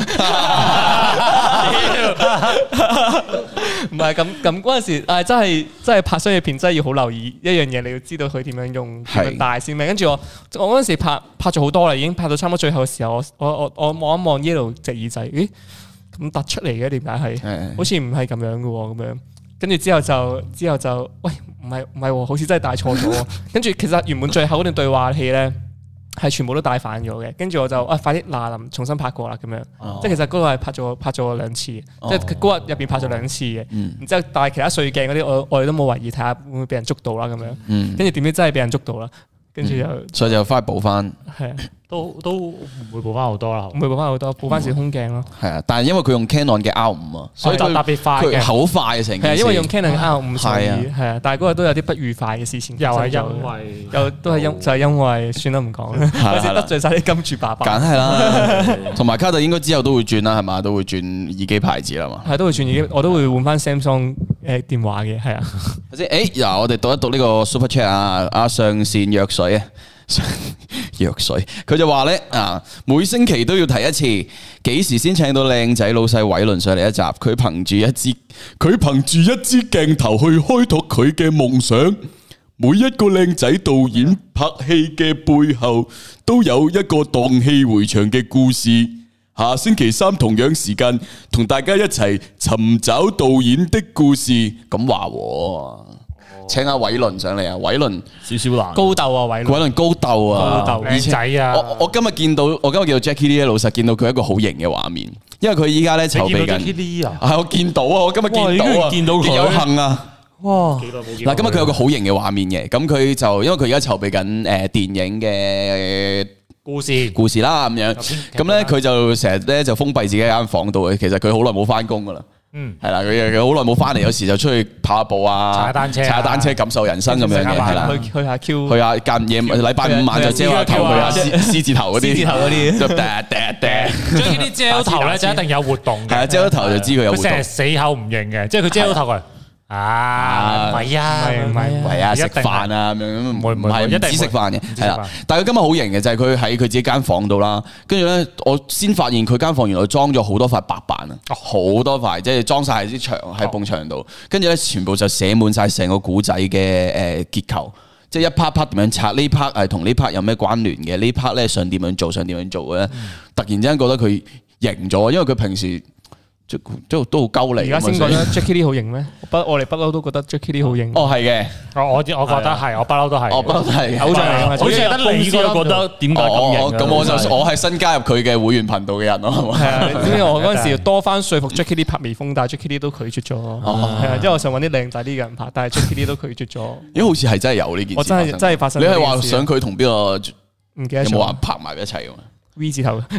[SPEAKER 2] 係咁嗰陣時，真係拍商業片真係要好留意一樣嘢，你要知道佢點樣用點樣帶先咩。跟住我嗰陣時拍咗好多啦，已經拍到差唔多最後嘅時候，我望一望 Yellow 隻耳仔，咦咁突出嚟嘅？點解係？好似唔係咁樣嘅喎，咁樣。跟住之後就，喂，唔係，好似真係帶錯咗。跟住其實原本最後嗰段對話戲咧，係全部都帶反咗嘅。跟住我就快啲嗱重新拍過啦咁樣。即係其實嗰個係拍咗2次，即係嗰日入邊拍咗2次嘅。然之後但係其他碎鏡嗰啲，我哋都冇懷疑睇下會唔會俾人捉到啦咁樣。跟住點知真係俾人捉到啦。跟住
[SPEAKER 1] 所以就翻去補翻。
[SPEAKER 2] 係啊。
[SPEAKER 3] 都唔會補翻好多啦，
[SPEAKER 2] 唔會補翻好多，補翻少空鏡咯。
[SPEAKER 1] 係啊，但係因為佢用 Canon 嘅 R5啊，所以
[SPEAKER 3] 特別快嘅，
[SPEAKER 1] 好快嘅成件事。
[SPEAKER 2] 係因為用 Canon 嘅 R5，所以係啊，但係嗰日都有啲不愉快嘅事情。
[SPEAKER 3] 又係
[SPEAKER 2] 因為算啦唔講啦，我先得罪晒啲金主爸爸。
[SPEAKER 1] 梗係啦，同埋卡特應該之後都會轉啦，係嘛？都會轉耳機牌子啦嘛。
[SPEAKER 2] 係都會轉耳機，我都會換翻 Samsung 電話嘅，係啊。
[SPEAKER 1] 頭先嗱，我哋讀一讀呢個 Super Chat 啊，上線藥水啊。藥水，佢就話咧每星期都要提一次，幾時先請到靚仔老細偉倫上嚟一集？佢憑住一支鏡頭去開拓佢嘅夢想。每一個靚仔導演拍戲嘅背後，都有一個蕩氣迴腸嘅故事。下星期3同樣時間，同大家一齊尋找導演的故事。咁話請阿偉倫上嚟啊！偉倫
[SPEAKER 4] 少少難，
[SPEAKER 2] 高竇啊！偉倫
[SPEAKER 1] 高竇啊！
[SPEAKER 3] 靚仔啊！
[SPEAKER 1] 我今日見到 Jackie Lee 老實見到佢一個好型嘅畫面，因為佢依家咧籌備緊。係我見到啊！我今日見到佢，有幸啊！哇！嗱，今日佢有個好型嘅畫面嘅，咁佢就因為佢而家籌備緊電影嘅故事啦咁樣，咁咧佢就成日咧就封閉自己喺間房度嘅，其實佢好耐冇翻工噶啦。係啦，佢好耐冇翻嚟，有時就出去跑下步啊，踩下單車，感受人生咁樣嘅，係啦，
[SPEAKER 2] 去下 Q，
[SPEAKER 1] 去下間夜禮拜5晚就遮下頭，去下獅子頭嗰啲，就
[SPEAKER 3] 將呢啲遮頭咧就一定有活動嘅，
[SPEAKER 1] 係啊，遮頭就知佢有活動。
[SPEAKER 3] 佢成日死口唔認嘅，即係佢遮頭佢。唔係啊，
[SPEAKER 1] 食飯啊咁樣，唔係唔止食飯嘅，係啦。但係佢今日好型嘅就係佢喺佢自己間房度啦，跟住咧我先發現佢間房原來裝咗好多塊白板啊，好多塊，即係裝晒喺啲牆喺埲牆度，跟住咧全部就寫滿晒成個古仔嘅結構，即係一 part 點樣拆，呢 part 係同呢 part 有咩關聯嘅，呢 part 咧想點樣做嘅咧，突然之間覺得佢型咗，因為佢平時都好鳩嚟。
[SPEAKER 2] 而家先覺得 Jackie Lee 好型咩？我哋不嬲都覺得 Jackie Lee 好型。
[SPEAKER 1] 哦，係嘅，
[SPEAKER 3] 我覺得係，我不嬲都係。
[SPEAKER 1] 我不嬲都係
[SPEAKER 2] 偶像嚟㗎嘛，
[SPEAKER 4] 好似得你先覺得點解咁型？
[SPEAKER 1] 咁我係新加入佢嘅會員頻道嘅人咯。
[SPEAKER 2] 係啊，你知唔知我嗰陣時多番說服 Jackie Lee 拍微風，但係 Jackie Lee 都拒絕咗。係啊，因為我想揾啲靚仔啲嘅人拍，但係 Jackie Lee 都拒絕咗。
[SPEAKER 1] 咦，好似係真係有呢件事。
[SPEAKER 2] 我真係發生。
[SPEAKER 1] 你係話想佢同邊個？
[SPEAKER 2] 唔記得咗。
[SPEAKER 1] 有冇話拍埋一齊㗎？
[SPEAKER 2] V 字頭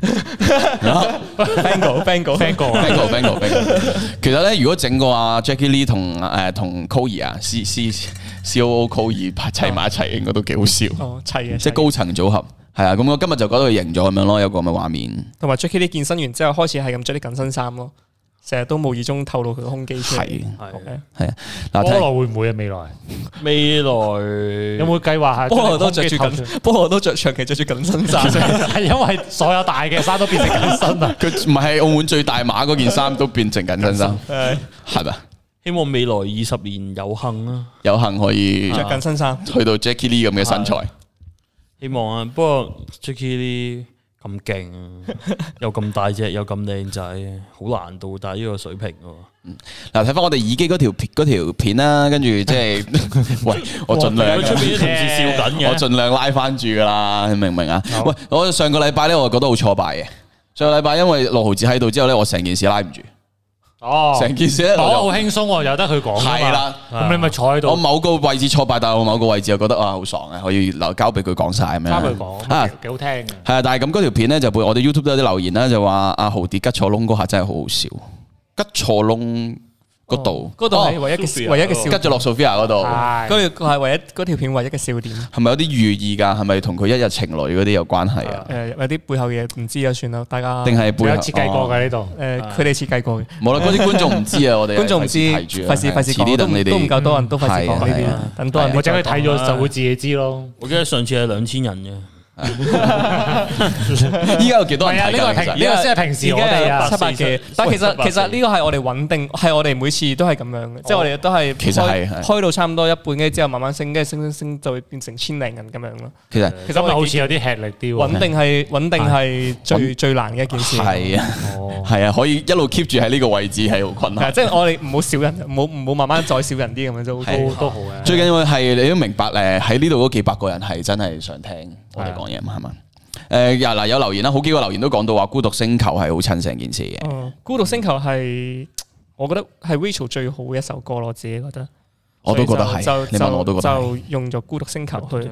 [SPEAKER 2] ，Bango。
[SPEAKER 1] 其實咧，如果整個阿 Jackie Lee 同 Coir 啊 COO Coir 砌埋一齊，應該都幾好笑。
[SPEAKER 2] 砌嘅，
[SPEAKER 1] 即係高層組合。係啊，咁我今日就覺得佢型咗咁樣咯，有個咁嘅畫面。
[SPEAKER 2] 同埋 Jackie Lee 健身完之後，開始係咁着啲緊身衫咯，成日都無意中透露佢個胸肌出嚟。係啊，
[SPEAKER 3] 菠蘿會唔會啊？未來有冇計劃下？
[SPEAKER 2] 菠蘿都着長期着住緊身衫，
[SPEAKER 3] 係因為所有大嘅衫都變成緊身啊！
[SPEAKER 1] 佢唔係澳門最大碼嗰件衫都變成緊身衫，係咪？
[SPEAKER 4] 希望未來20年有幸啦，
[SPEAKER 1] 有幸可以
[SPEAKER 2] 着緊身衫，
[SPEAKER 1] 去到 Jackie Lee 咁嘅身材。
[SPEAKER 4] 希望啊，不過 Jackie Lee 咁勁，又咁大隻，又咁靚仔，好難到達呢個水平喎。
[SPEAKER 1] 嗱，睇翻我哋耳機嗰條片啦，跟住即係，喂，我盡量，
[SPEAKER 4] 出邊啲同事笑緊嘅，
[SPEAKER 1] 我盡量拉翻住噶啦，你明唔明啊？喂，我上個禮拜咧，我覺得好挫敗嘅。上個禮拜因為6毫子喺度之後咧，我成件事拉唔住。成件事咧，
[SPEAKER 3] 好輕鬆喎，由得佢講。係
[SPEAKER 1] 啦，
[SPEAKER 3] 咁你咪坐喺度。
[SPEAKER 1] 我某個位置挫敗，但係我某個位置又覺得好爽啊，可以留交俾佢講晒咁樣。
[SPEAKER 3] 交俾佢講，幾好聽嘅。
[SPEAKER 1] 係啊，但係咁嗰條片咧就我哋 YouTube 都有啲留言啦，就話阿豪跌吉錯窿嗰下真係好好笑，吉錯窿。嗰度
[SPEAKER 2] 係唯一嘅笑，
[SPEAKER 1] 吉咗落 Sophia 嗰度，
[SPEAKER 2] 嗰條係唯一嗰條片唯一嘅笑點。
[SPEAKER 1] 係咪有啲寓意㗎？係咪同佢一日情侶嗰啲有關係啊？
[SPEAKER 2] 有啲背後嘢唔知啊，算啦，大家
[SPEAKER 1] 定係背後
[SPEAKER 3] 設計過嘅呢度？
[SPEAKER 2] 佢哋設計過嘅。
[SPEAKER 1] 冇啦，嗰啲觀眾唔知啊，我哋
[SPEAKER 2] 觀眾唔知，費事講，都唔夠多人都費事講呢啲，等多人。
[SPEAKER 3] 或者佢睇咗就會自己知咯。
[SPEAKER 4] 我記得上次係2000人嘅。
[SPEAKER 1] 依家有幾多人睇？
[SPEAKER 3] 呢個先係平時我哋
[SPEAKER 2] 700嘅，但其實呢個係我哋穩定，係我哋每次都係咁樣嘅，即係我哋都係
[SPEAKER 1] 其實係
[SPEAKER 2] 開到差唔多一半嘅之後，慢慢升，跟住升就會變成1000零人咁樣咯。
[SPEAKER 1] 其實
[SPEAKER 3] 我好似有啲吃力啲。
[SPEAKER 2] 穩定係最難嘅一件事。
[SPEAKER 1] 係啊，係啊，可以一路 keep 住喺呢個位置係好困難。
[SPEAKER 2] 即係我哋唔好少人，唔好慢慢再少人啲咁樣
[SPEAKER 3] 都好嘅。
[SPEAKER 1] 最緊要係你都明白喺呢度嗰幾百個人係真係想聽我哋講嘢嘛，係嘛？嗱有留言啦，好幾個留言都講到話《孤獨星球》係好襯成件事嘅。
[SPEAKER 2] 《孤獨星球》係我覺得係 Rachel 最好嘅一首歌咯，我自己覺得。
[SPEAKER 1] 我都覺得係，你問我都覺得係。
[SPEAKER 2] 就用咗《孤獨星球》去。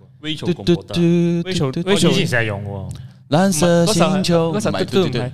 [SPEAKER 3] Rachel 以前成日用喎。
[SPEAKER 1] 藍色星球唔係嘟係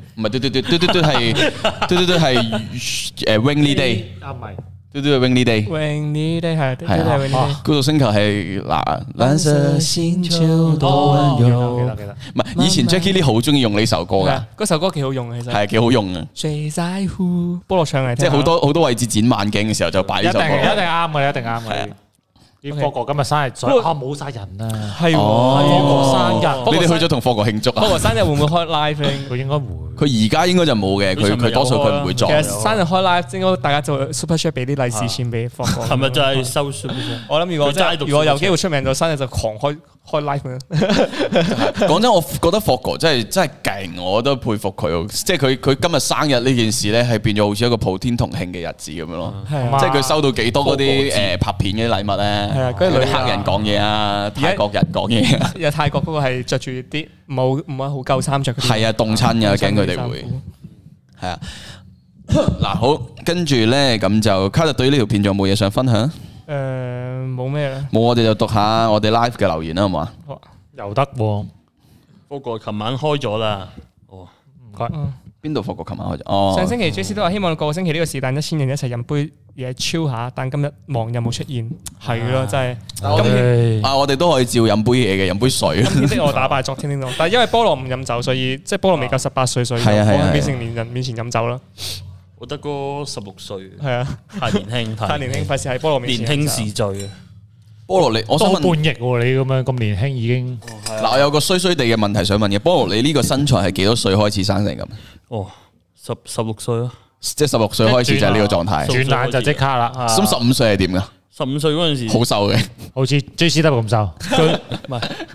[SPEAKER 1] Rainy Day。
[SPEAKER 3] 唔係。
[SPEAKER 1] 嘟嘟係 Rainy
[SPEAKER 2] Day。Rainy Day 係。
[SPEAKER 1] 係孤獨星球係藍色星球多溫柔。
[SPEAKER 3] 記得。
[SPEAKER 1] 唔係以前 Jackie Lee 好中意用呢首歌㗎。
[SPEAKER 2] 嗰首歌幾好用嘅，其實
[SPEAKER 1] 係幾好用嘅。
[SPEAKER 2] 最在乎菠蘿唱嚟，
[SPEAKER 1] 即係好多位置剪慢鏡嘅時候就擺呢首歌。
[SPEAKER 3] 一定啱嘅，一定啱嘅。啲霍哥今日生日，冇晒人啊！
[SPEAKER 2] 係
[SPEAKER 3] 霍哥生日，
[SPEAKER 1] 你哋去咗同霍哥慶祝啊？
[SPEAKER 2] 霍哥生日會唔會開 live？
[SPEAKER 3] 佢應該會。
[SPEAKER 1] 佢而家應該就冇嘅，佢多數佢唔會做。
[SPEAKER 2] 其實生日開 live 應該大家做 super chat 俾啲利是錢俾霍哥。
[SPEAKER 4] 係咪就係收 super chat？
[SPEAKER 2] 我諗如果有機會出名咗，生日就狂開 live 咁樣。
[SPEAKER 1] 講真，我覺得霍哥真係勁，我都佩服佢。即係佢今日生日呢件事咧，係變咗好似一個普天同慶嘅日子咁樣咯。即係佢收到幾多嗰啲拍片嘅禮物咧？係啊，嗰啲黑人講嘢啊，泰國人講嘢啊。
[SPEAKER 2] 有泰國嗰個係着住啲唔係好夠衫着嗰啲。係
[SPEAKER 1] 啊，凍親㗎，驚佢哋會。係啊，嗱好，跟住咧咁就卡特對呢條片仲有冇嘢想分享？
[SPEAKER 2] 冇咩啦。冇，
[SPEAKER 1] 我哋就讀下我哋 live 嘅留言啦，好嘛？
[SPEAKER 3] 又得喎。
[SPEAKER 4] 不過琴晚開咗啦。哦，
[SPEAKER 3] 唔該。
[SPEAKER 1] 邊度復過？琴晚開咗。哦。
[SPEAKER 2] 上星期 JC 都話希望個星期呢個是但1000人一齊飲杯嘢 chill 下，但今日忙有冇出現？係咯，真係。
[SPEAKER 1] 我哋都可以照飲杯嘢嘅，飲杯水。
[SPEAKER 2] 今天的我打敗昨天的我，但係因為菠蘿唔飲酒，所以即係菠蘿未夠18歲，所以喺未成年人面前飲酒啦。
[SPEAKER 4] 我得個16歲。
[SPEAKER 2] 係啊，
[SPEAKER 4] 太年輕，
[SPEAKER 2] 太年輕，費事喺菠蘿面前。
[SPEAKER 4] 年輕時醉啊！
[SPEAKER 1] 菠蘿你，我想問
[SPEAKER 3] 半逆喎，你咁樣咁年輕已經。
[SPEAKER 1] 嗱，我有個衰衰地嘅問題想問嘅，菠蘿你呢個身材係幾多歲開始生成咁？
[SPEAKER 4] 哦，16歲咯，
[SPEAKER 1] 即係16歲開始就係呢個狀態。
[SPEAKER 3] 轉眼就即刻啦。
[SPEAKER 1] 咁15歲係點噶？
[SPEAKER 4] 15歲嗰陣時
[SPEAKER 1] 好瘦嘅，
[SPEAKER 3] 好似 JCW 咁瘦。
[SPEAKER 4] 唔係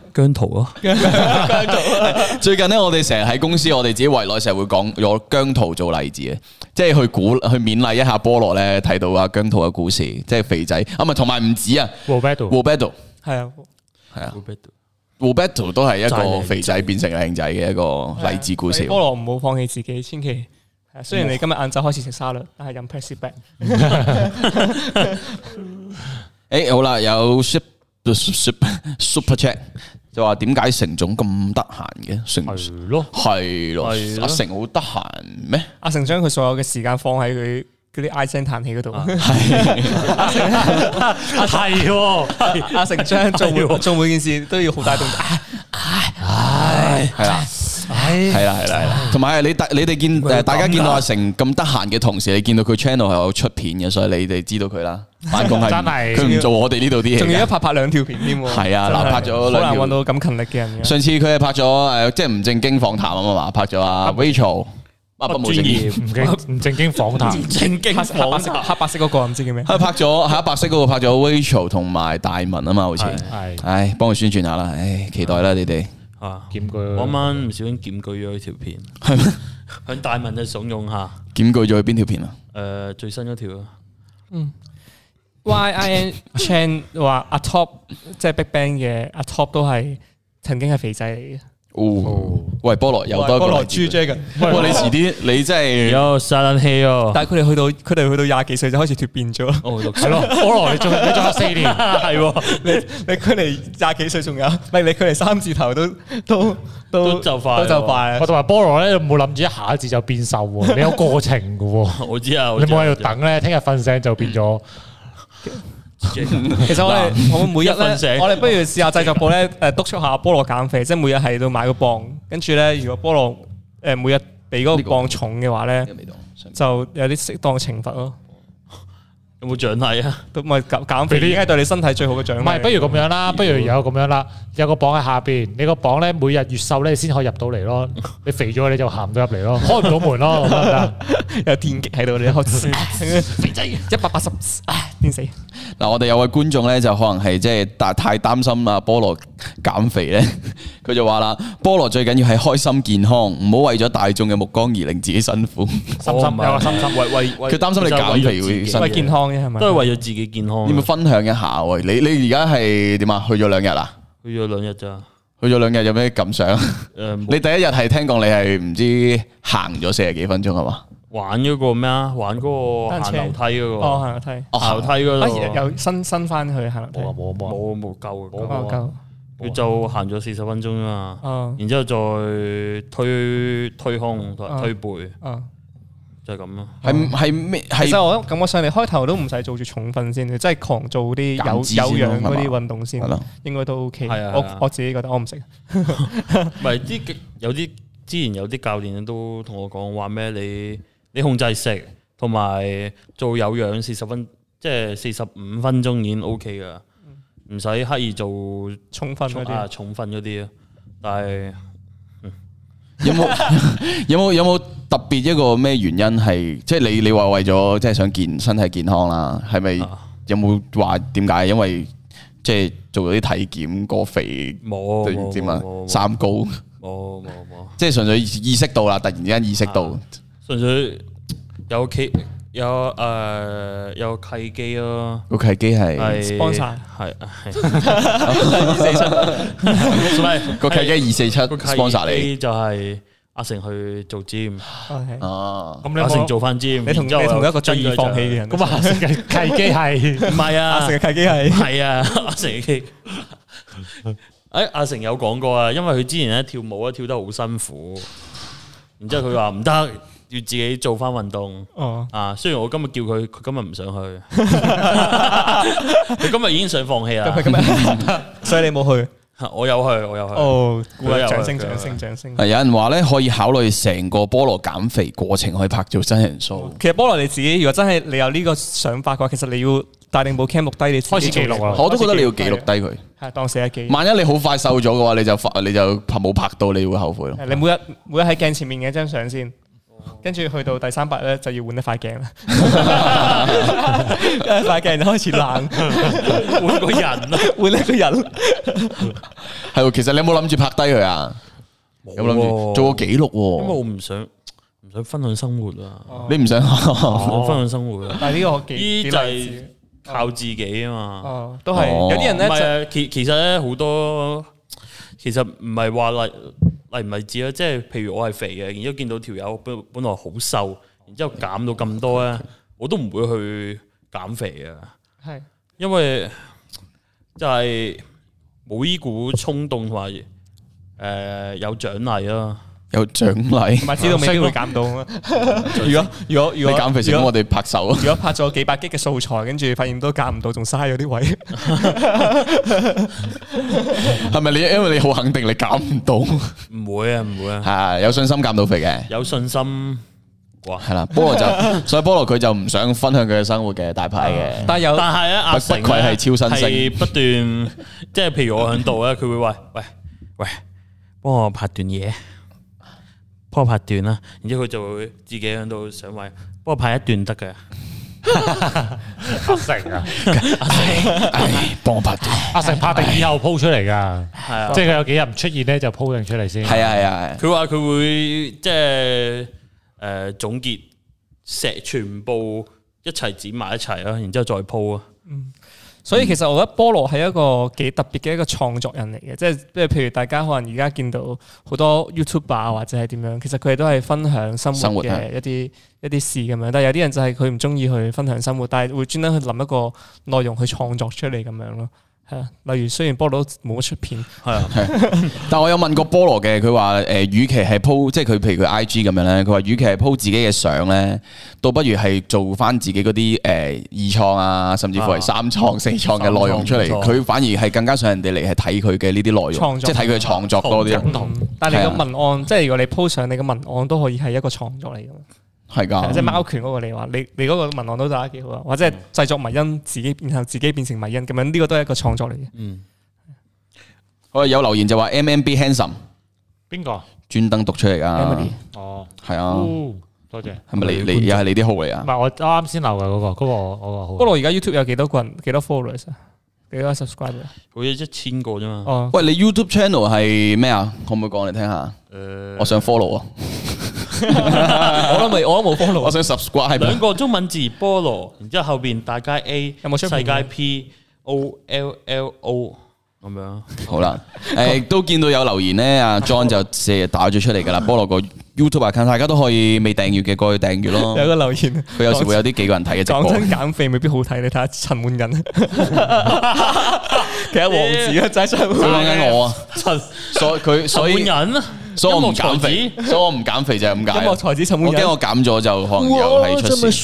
[SPEAKER 4] 姜濤咯，
[SPEAKER 1] 最近咧，我哋成日喺公司，我哋自己圍內成日會講攞姜濤做例子嘅，即係去勉勵一下菠蘿咧，睇到阿姜濤嘅故事，即係肥仔啊，唔係同埋唔止啊
[SPEAKER 3] Roberto
[SPEAKER 2] 係啊。
[SPEAKER 1] Roberto 都係一個肥仔變成靚仔嘅一個勵志故事。
[SPEAKER 2] 菠蘿唔好放棄自己，千祈。雖然你今日晏晝開始食沙律，但係飲 Pepsi Black。
[SPEAKER 1] 誒好啦，有 Super Chat 就話點解成總咁得閒嘅？係咯，阿成好得閒咩？
[SPEAKER 2] 阿成將佢所有嘅時間放喺佢嗰啲唉聲嘆氣嗰度。阿成將做每件事都要好大動作。係啦，同埋你哋見大家見到阿成咁得閒嘅同時，你見到佢 channel 係有出片嘅，所以你哋知道佢啦。翻工係佢唔做我哋呢度啲嘢， 仲要一拍兩條片添。
[SPEAKER 1] 係啊，嗱拍咗
[SPEAKER 2] 好難揾到咁勤力嘅人。
[SPEAKER 1] 上次佢係拍咗即係唔正經訪談啊嘛，拍咗阿 Rachel，不冇正經
[SPEAKER 3] 唔正經訪談，
[SPEAKER 4] 正經訪談
[SPEAKER 2] 黑白色嗰個唔知叫咩？
[SPEAKER 1] 佢拍咗黑白色嗰個拍咗 Rachel 同埋大文啊嘛，好似係，唉，幫佢宣傳下啦，唉，期待啦你哋。
[SPEAKER 3] 檢舉，
[SPEAKER 4] 我啱啱唔小心檢舉咗佢條片，
[SPEAKER 1] 係咩？
[SPEAKER 4] 向大文就慫恿下，
[SPEAKER 1] 檢舉咗佢邊條片啊？
[SPEAKER 4] 最新嗰條啊。
[SPEAKER 2] YIN Chan 話阿 Top 即係 BigBang 嘅阿 Top 都係曾經係肥仔嚟嘅。
[SPEAKER 1] 喂，菠蘿又多一個
[SPEAKER 2] 菠蘿豬 Dragon。
[SPEAKER 1] 喂，你遲啲你真係
[SPEAKER 4] 有殺人氣哦！
[SPEAKER 2] 但係佢哋去到廿幾歲就開始脫變咗。
[SPEAKER 4] 哦，
[SPEAKER 3] 係咯，菠蘿你仲有4年，
[SPEAKER 2] 係你距離廿幾歲仲有，唔係你距離3字頭都
[SPEAKER 4] 就快，
[SPEAKER 3] 我同埋菠蘿咧，冇諗住一下子就變瘦喎，你有過程嘅喎。
[SPEAKER 4] 我知啊，
[SPEAKER 3] 你冇喺度等咧，聽日瞓醒就變咗。
[SPEAKER 2] 其實我哋每日咧，我哋不如試下製作部咧，督促下菠蘿減肥，即係每日喺度買個磅，跟住咧，如果菠蘿每日比嗰個磅重嘅話咧，就有啲適當嘅懲罰咯。
[SPEAKER 4] 有冇獎勵啊？
[SPEAKER 2] 都咪減肥已經係對你身體最好嘅獎勵。
[SPEAKER 3] 唔係，不如咁樣啦，不如有咁樣啦，有個磅喺下邊，你個磅咧每日越瘦咧，先可以入到嚟咯。你肥咗你就行唔到入嚟咯，開唔到門咯，得唔得？
[SPEAKER 2] 有電擊喺度，你開肥仔180，癲死！
[SPEAKER 1] 嗱，我哋有位觀眾咧，就可能係即係太擔心啊菠蘿減肥咧，佢就話啦：菠蘿最緊要係開心健康，唔好為咗大眾嘅目光而令自己辛苦。
[SPEAKER 3] 有個心，
[SPEAKER 1] 佢擔心你減肥會
[SPEAKER 2] 為健康啫，係咪？
[SPEAKER 4] 都係為咗自己健康。
[SPEAKER 1] 你咪分享一下喂？你而家係點啊？去咗2日啦？
[SPEAKER 4] 去咗2日咋？
[SPEAKER 1] 去咗2日有咩感想？你第一日係聽講你係唔知行咗40幾分鐘係嘛？
[SPEAKER 4] 玩嗰個咩啊？玩嗰個行樓梯嗰個。
[SPEAKER 2] 行樓梯。
[SPEAKER 4] 行樓梯嗰度。
[SPEAKER 2] 又新翻去行樓梯。
[SPEAKER 4] 冇夠。
[SPEAKER 2] 夠。
[SPEAKER 4] 佢就行咗40分鐘啊嘛。然之後再推胸同埋推背。就係咁咯。
[SPEAKER 1] 係咩？
[SPEAKER 2] 其實我感覺上嚟開頭都唔使做住重訓先，即係狂做啲有氧嗰啲運動先，應該都 OK。我自己覺得我唔識。
[SPEAKER 4] 唔係有啲之前有啲教練都同我講話咩？你控制食同埋做有氧40分，即係45分鐘已經 OK 噶，唔使刻意做
[SPEAKER 2] 重訓嗰啲。
[SPEAKER 4] 重訓嗰啲啊，但係
[SPEAKER 1] 有冇特別一個咩原因係即係你話為咗即係想身體健康啦？係咪有冇話點解？因為即係做咗啲體檢過肥，
[SPEAKER 4] 冇
[SPEAKER 1] 點啊？三高
[SPEAKER 4] 冇，
[SPEAKER 1] 即係純粹意識到啦，突然之間意識到，
[SPEAKER 4] 純粹有契機咯。
[SPEAKER 1] 個契機係
[SPEAKER 2] sponsor
[SPEAKER 4] 係
[SPEAKER 1] 個契機247 sponsor 你，
[SPEAKER 4] 就係阿成去做 gym。
[SPEAKER 1] 哦，
[SPEAKER 4] 咁阿成做翻 gym，
[SPEAKER 2] 你同一個最易放棄嘅人。
[SPEAKER 3] 咁阿成嘅契機係
[SPEAKER 4] 唔係啊？
[SPEAKER 2] 阿成嘅契機係
[SPEAKER 4] 啊，阿成嘅契。阿成有講過啊，因為佢之前咧跳舞咧跳得好辛苦，然之後佢話唔得，要自己做翻運動。雖然我今日叫佢今日唔想去，佢今日已經想放棄啦。
[SPEAKER 2] 所以你冇去？
[SPEAKER 4] 我有去。
[SPEAKER 2] 哦，掌聲！
[SPEAKER 1] 有人話咧可以考慮成個菠蘿減肥過程可以拍做真人 show。
[SPEAKER 2] 其實菠蘿你自己如果真係你有呢個想法嘅話，其實你要帶定部 cam 錄低你
[SPEAKER 3] 開始記錄啊！
[SPEAKER 1] 我都覺得你要記錄低佢，
[SPEAKER 2] 係當寫日記。
[SPEAKER 1] 萬一你好快瘦咗嘅話，你就冇拍到，你會後悔咯。
[SPEAKER 2] 你每日喺鏡前面嘅一張相先， 跟住去到第3集咧就要換一塊鏡啦，一塊鏡就開始爛，
[SPEAKER 4] 換個人咯，
[SPEAKER 2] 換一個人。
[SPEAKER 1] 係喎，其實你有冇諗住拍低佢啊？有冇諗住做個記錄喎？
[SPEAKER 4] 因為我唔想分享生活啊，
[SPEAKER 1] 你唔想
[SPEAKER 4] 分享生活啊？
[SPEAKER 2] 但係呢個
[SPEAKER 4] 呢就係靠自己啊嘛。
[SPEAKER 2] 哦，都係有啲人咧
[SPEAKER 4] 其實咧好多，其實唔係話例唔例子啦，即係譬如我係肥嘅，然之後見到條友本來好瘦，然之後減到咁多咧，我都唔會去減肥啊。
[SPEAKER 2] 係，因
[SPEAKER 4] 為就係冇呢股衝動同埋有獎勵咯。
[SPEAKER 1] 有獎勵，
[SPEAKER 2] 唔係知道未必會減到啊！如果
[SPEAKER 1] 你減肥成功，我哋拍手。
[SPEAKER 2] 如果拍咗幾百 G 嘅素材，跟住發現都減唔到，仲嘥咗啲位，
[SPEAKER 1] 係咪你因為你好肯定你減唔到？
[SPEAKER 4] 唔會啊，
[SPEAKER 1] 係有信心減到肥嘅，
[SPEAKER 4] 有信心。哇，
[SPEAKER 1] 係啦，所以菠蘿佢就唔想分享佢嘅生活嘅大牌嘅，
[SPEAKER 4] 但係咧阿成
[SPEAKER 1] 不愧係超新星，
[SPEAKER 4] 係不斷即係譬如我喺度咧，佢會話喂，幫我拍段嘢。幫我拍段啦，然之後佢就會自己喺度想話，幫我拍一段得嘅。
[SPEAKER 3] 阿成啊，
[SPEAKER 1] 幫我拍段。
[SPEAKER 3] 阿成拍定以後 po 出嚟噶，
[SPEAKER 4] 係啊，
[SPEAKER 3] 即係佢有幾日唔出現咧，就 po 定出嚟先。
[SPEAKER 1] 係啊，
[SPEAKER 4] 佢話佢會即係總結全部一齊剪埋一齊啦，然之後再 po 啊。
[SPEAKER 2] 所以其實我覺得菠蘿係一個幾特別嘅一個創作人嚟嘅，即係譬如大家可能而家見到好多 YouTuber 啊或者係點樣，其實佢哋都係分享生活嘅一啲事咁樣，但係有啲人就係佢唔中意去分享生活，但係會專登去諗一個內容去創作出嚟咁樣咯。係啊，例如雖然菠蘿都冇乜出片，
[SPEAKER 4] 係啊，
[SPEAKER 1] 但我有問過菠蘿嘅，佢話與其係 po 即係佢譬如佢 IG 咁樣咧，佢話與其係 po 自己嘅相咧，倒不如係做翻自己嗰啲二創啊，甚至乎係3創4創嘅內容出嚟，佢反而係更加想人哋嚟係睇佢嘅呢啲內容，即係睇佢嘅創作多啲。
[SPEAKER 2] 但係你個文案，即係如果你 po 上你嘅文案都可以係一個創作嚟㗎。
[SPEAKER 1] 係㗎，即
[SPEAKER 2] 係貓拳嗰個你話，你嗰個文案都打得幾好啊，或者係製作迷因然後自己變成迷因咁樣，呢個都係一個創作嚟嘅。
[SPEAKER 4] 嗯，
[SPEAKER 1] 我有留言就話 MMB Handsome，
[SPEAKER 3] 邊個？
[SPEAKER 1] 專登讀出嚟㗎。
[SPEAKER 3] 哦，
[SPEAKER 1] 係啊，
[SPEAKER 3] 多謝。
[SPEAKER 1] 係咪你又係你啲號嚟啊？
[SPEAKER 3] 唔係我啱先留嘅嗰個號。
[SPEAKER 2] 菠蘿而家 YouTube 有幾多個人？幾多 followers 啊？幾多 subscriber？
[SPEAKER 4] 好似1000個啫嘛。
[SPEAKER 2] 哦，
[SPEAKER 1] 喂，你 YouTube channel 係咩啊？可唔可以講嚟聽下？我想 follow 啊。
[SPEAKER 2] 我都冇 follow，
[SPEAKER 1] 我想 subscribe。
[SPEAKER 4] 2個中文字菠蘿，然之後後邊大街 A，
[SPEAKER 2] 有冇出
[SPEAKER 4] 世界 POLLO 咁樣。
[SPEAKER 1] 好啦，都見到有留言咧，阿 John 就成日打咗出嚟噶啦。菠蘿個 YouTube account，大家都可以未訂閱嘅過去訂閱咯。
[SPEAKER 2] 有個留言，
[SPEAKER 1] 佢有時會有啲幾個人睇嘅直播。
[SPEAKER 2] 講真，減肥未必好睇，你睇下陳滿仁，其實王子啊，真係
[SPEAKER 1] 佢講緊我啊，所以我唔減肥，所以我唔減肥就係咁解。
[SPEAKER 2] 音樂才子陳滿仁，
[SPEAKER 1] 我驚我減咗就可能又係出事。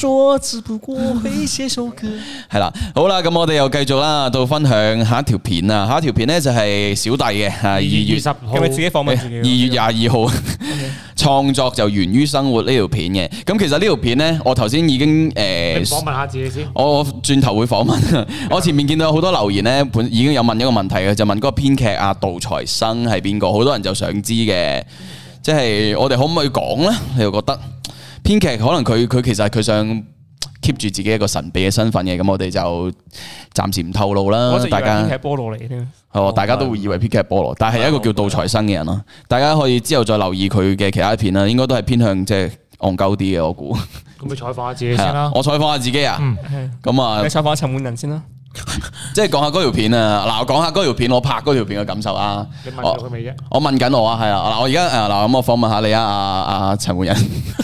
[SPEAKER 1] 係啦，好啦，咁我哋又繼續啦，到分享下一條片啊。下一條片咧就係小弟嘅2月
[SPEAKER 3] 20號，
[SPEAKER 2] 係咪自己訪問自己
[SPEAKER 1] ？2月22號創作就源於生活呢條片嘅。咁其實呢條片咧，我頭先已經
[SPEAKER 3] 你訪問下自己先。
[SPEAKER 1] 我轉頭會訪問。我前面見到好多留言咧，已經有問一個問題嘅，就問嗰個編劇阿杜財生係邊個？好多人就想知嘅。即係我哋可唔可以講咧？你又覺得編劇可能佢其實佢想 keep 住自己一個神秘嘅身份嘅，咁我哋就暫時唔透露啦。大家
[SPEAKER 2] 編劇菠蘿嚟添，
[SPEAKER 1] 大家都會以為編劇菠蘿，但係一個叫杜財生嘅人咯。大家可以之後再留意佢嘅其他片啦，應該都係偏向即係戇鳩啲嘅，我估。
[SPEAKER 3] 咁你採訪下自己先啦。
[SPEAKER 1] 我採訪下自己啊。咁啊，
[SPEAKER 2] 你採訪下陳滿仁先啦。
[SPEAKER 1] 即係講下嗰條片啊！嗱，我講下嗰條片，我拍嗰條片嘅感受啊！
[SPEAKER 3] 你問咗佢未啫？
[SPEAKER 1] 我問緊我啊，係啊！嗱，我而家嗱咁，我訪問下你啊，阿陳滿仁，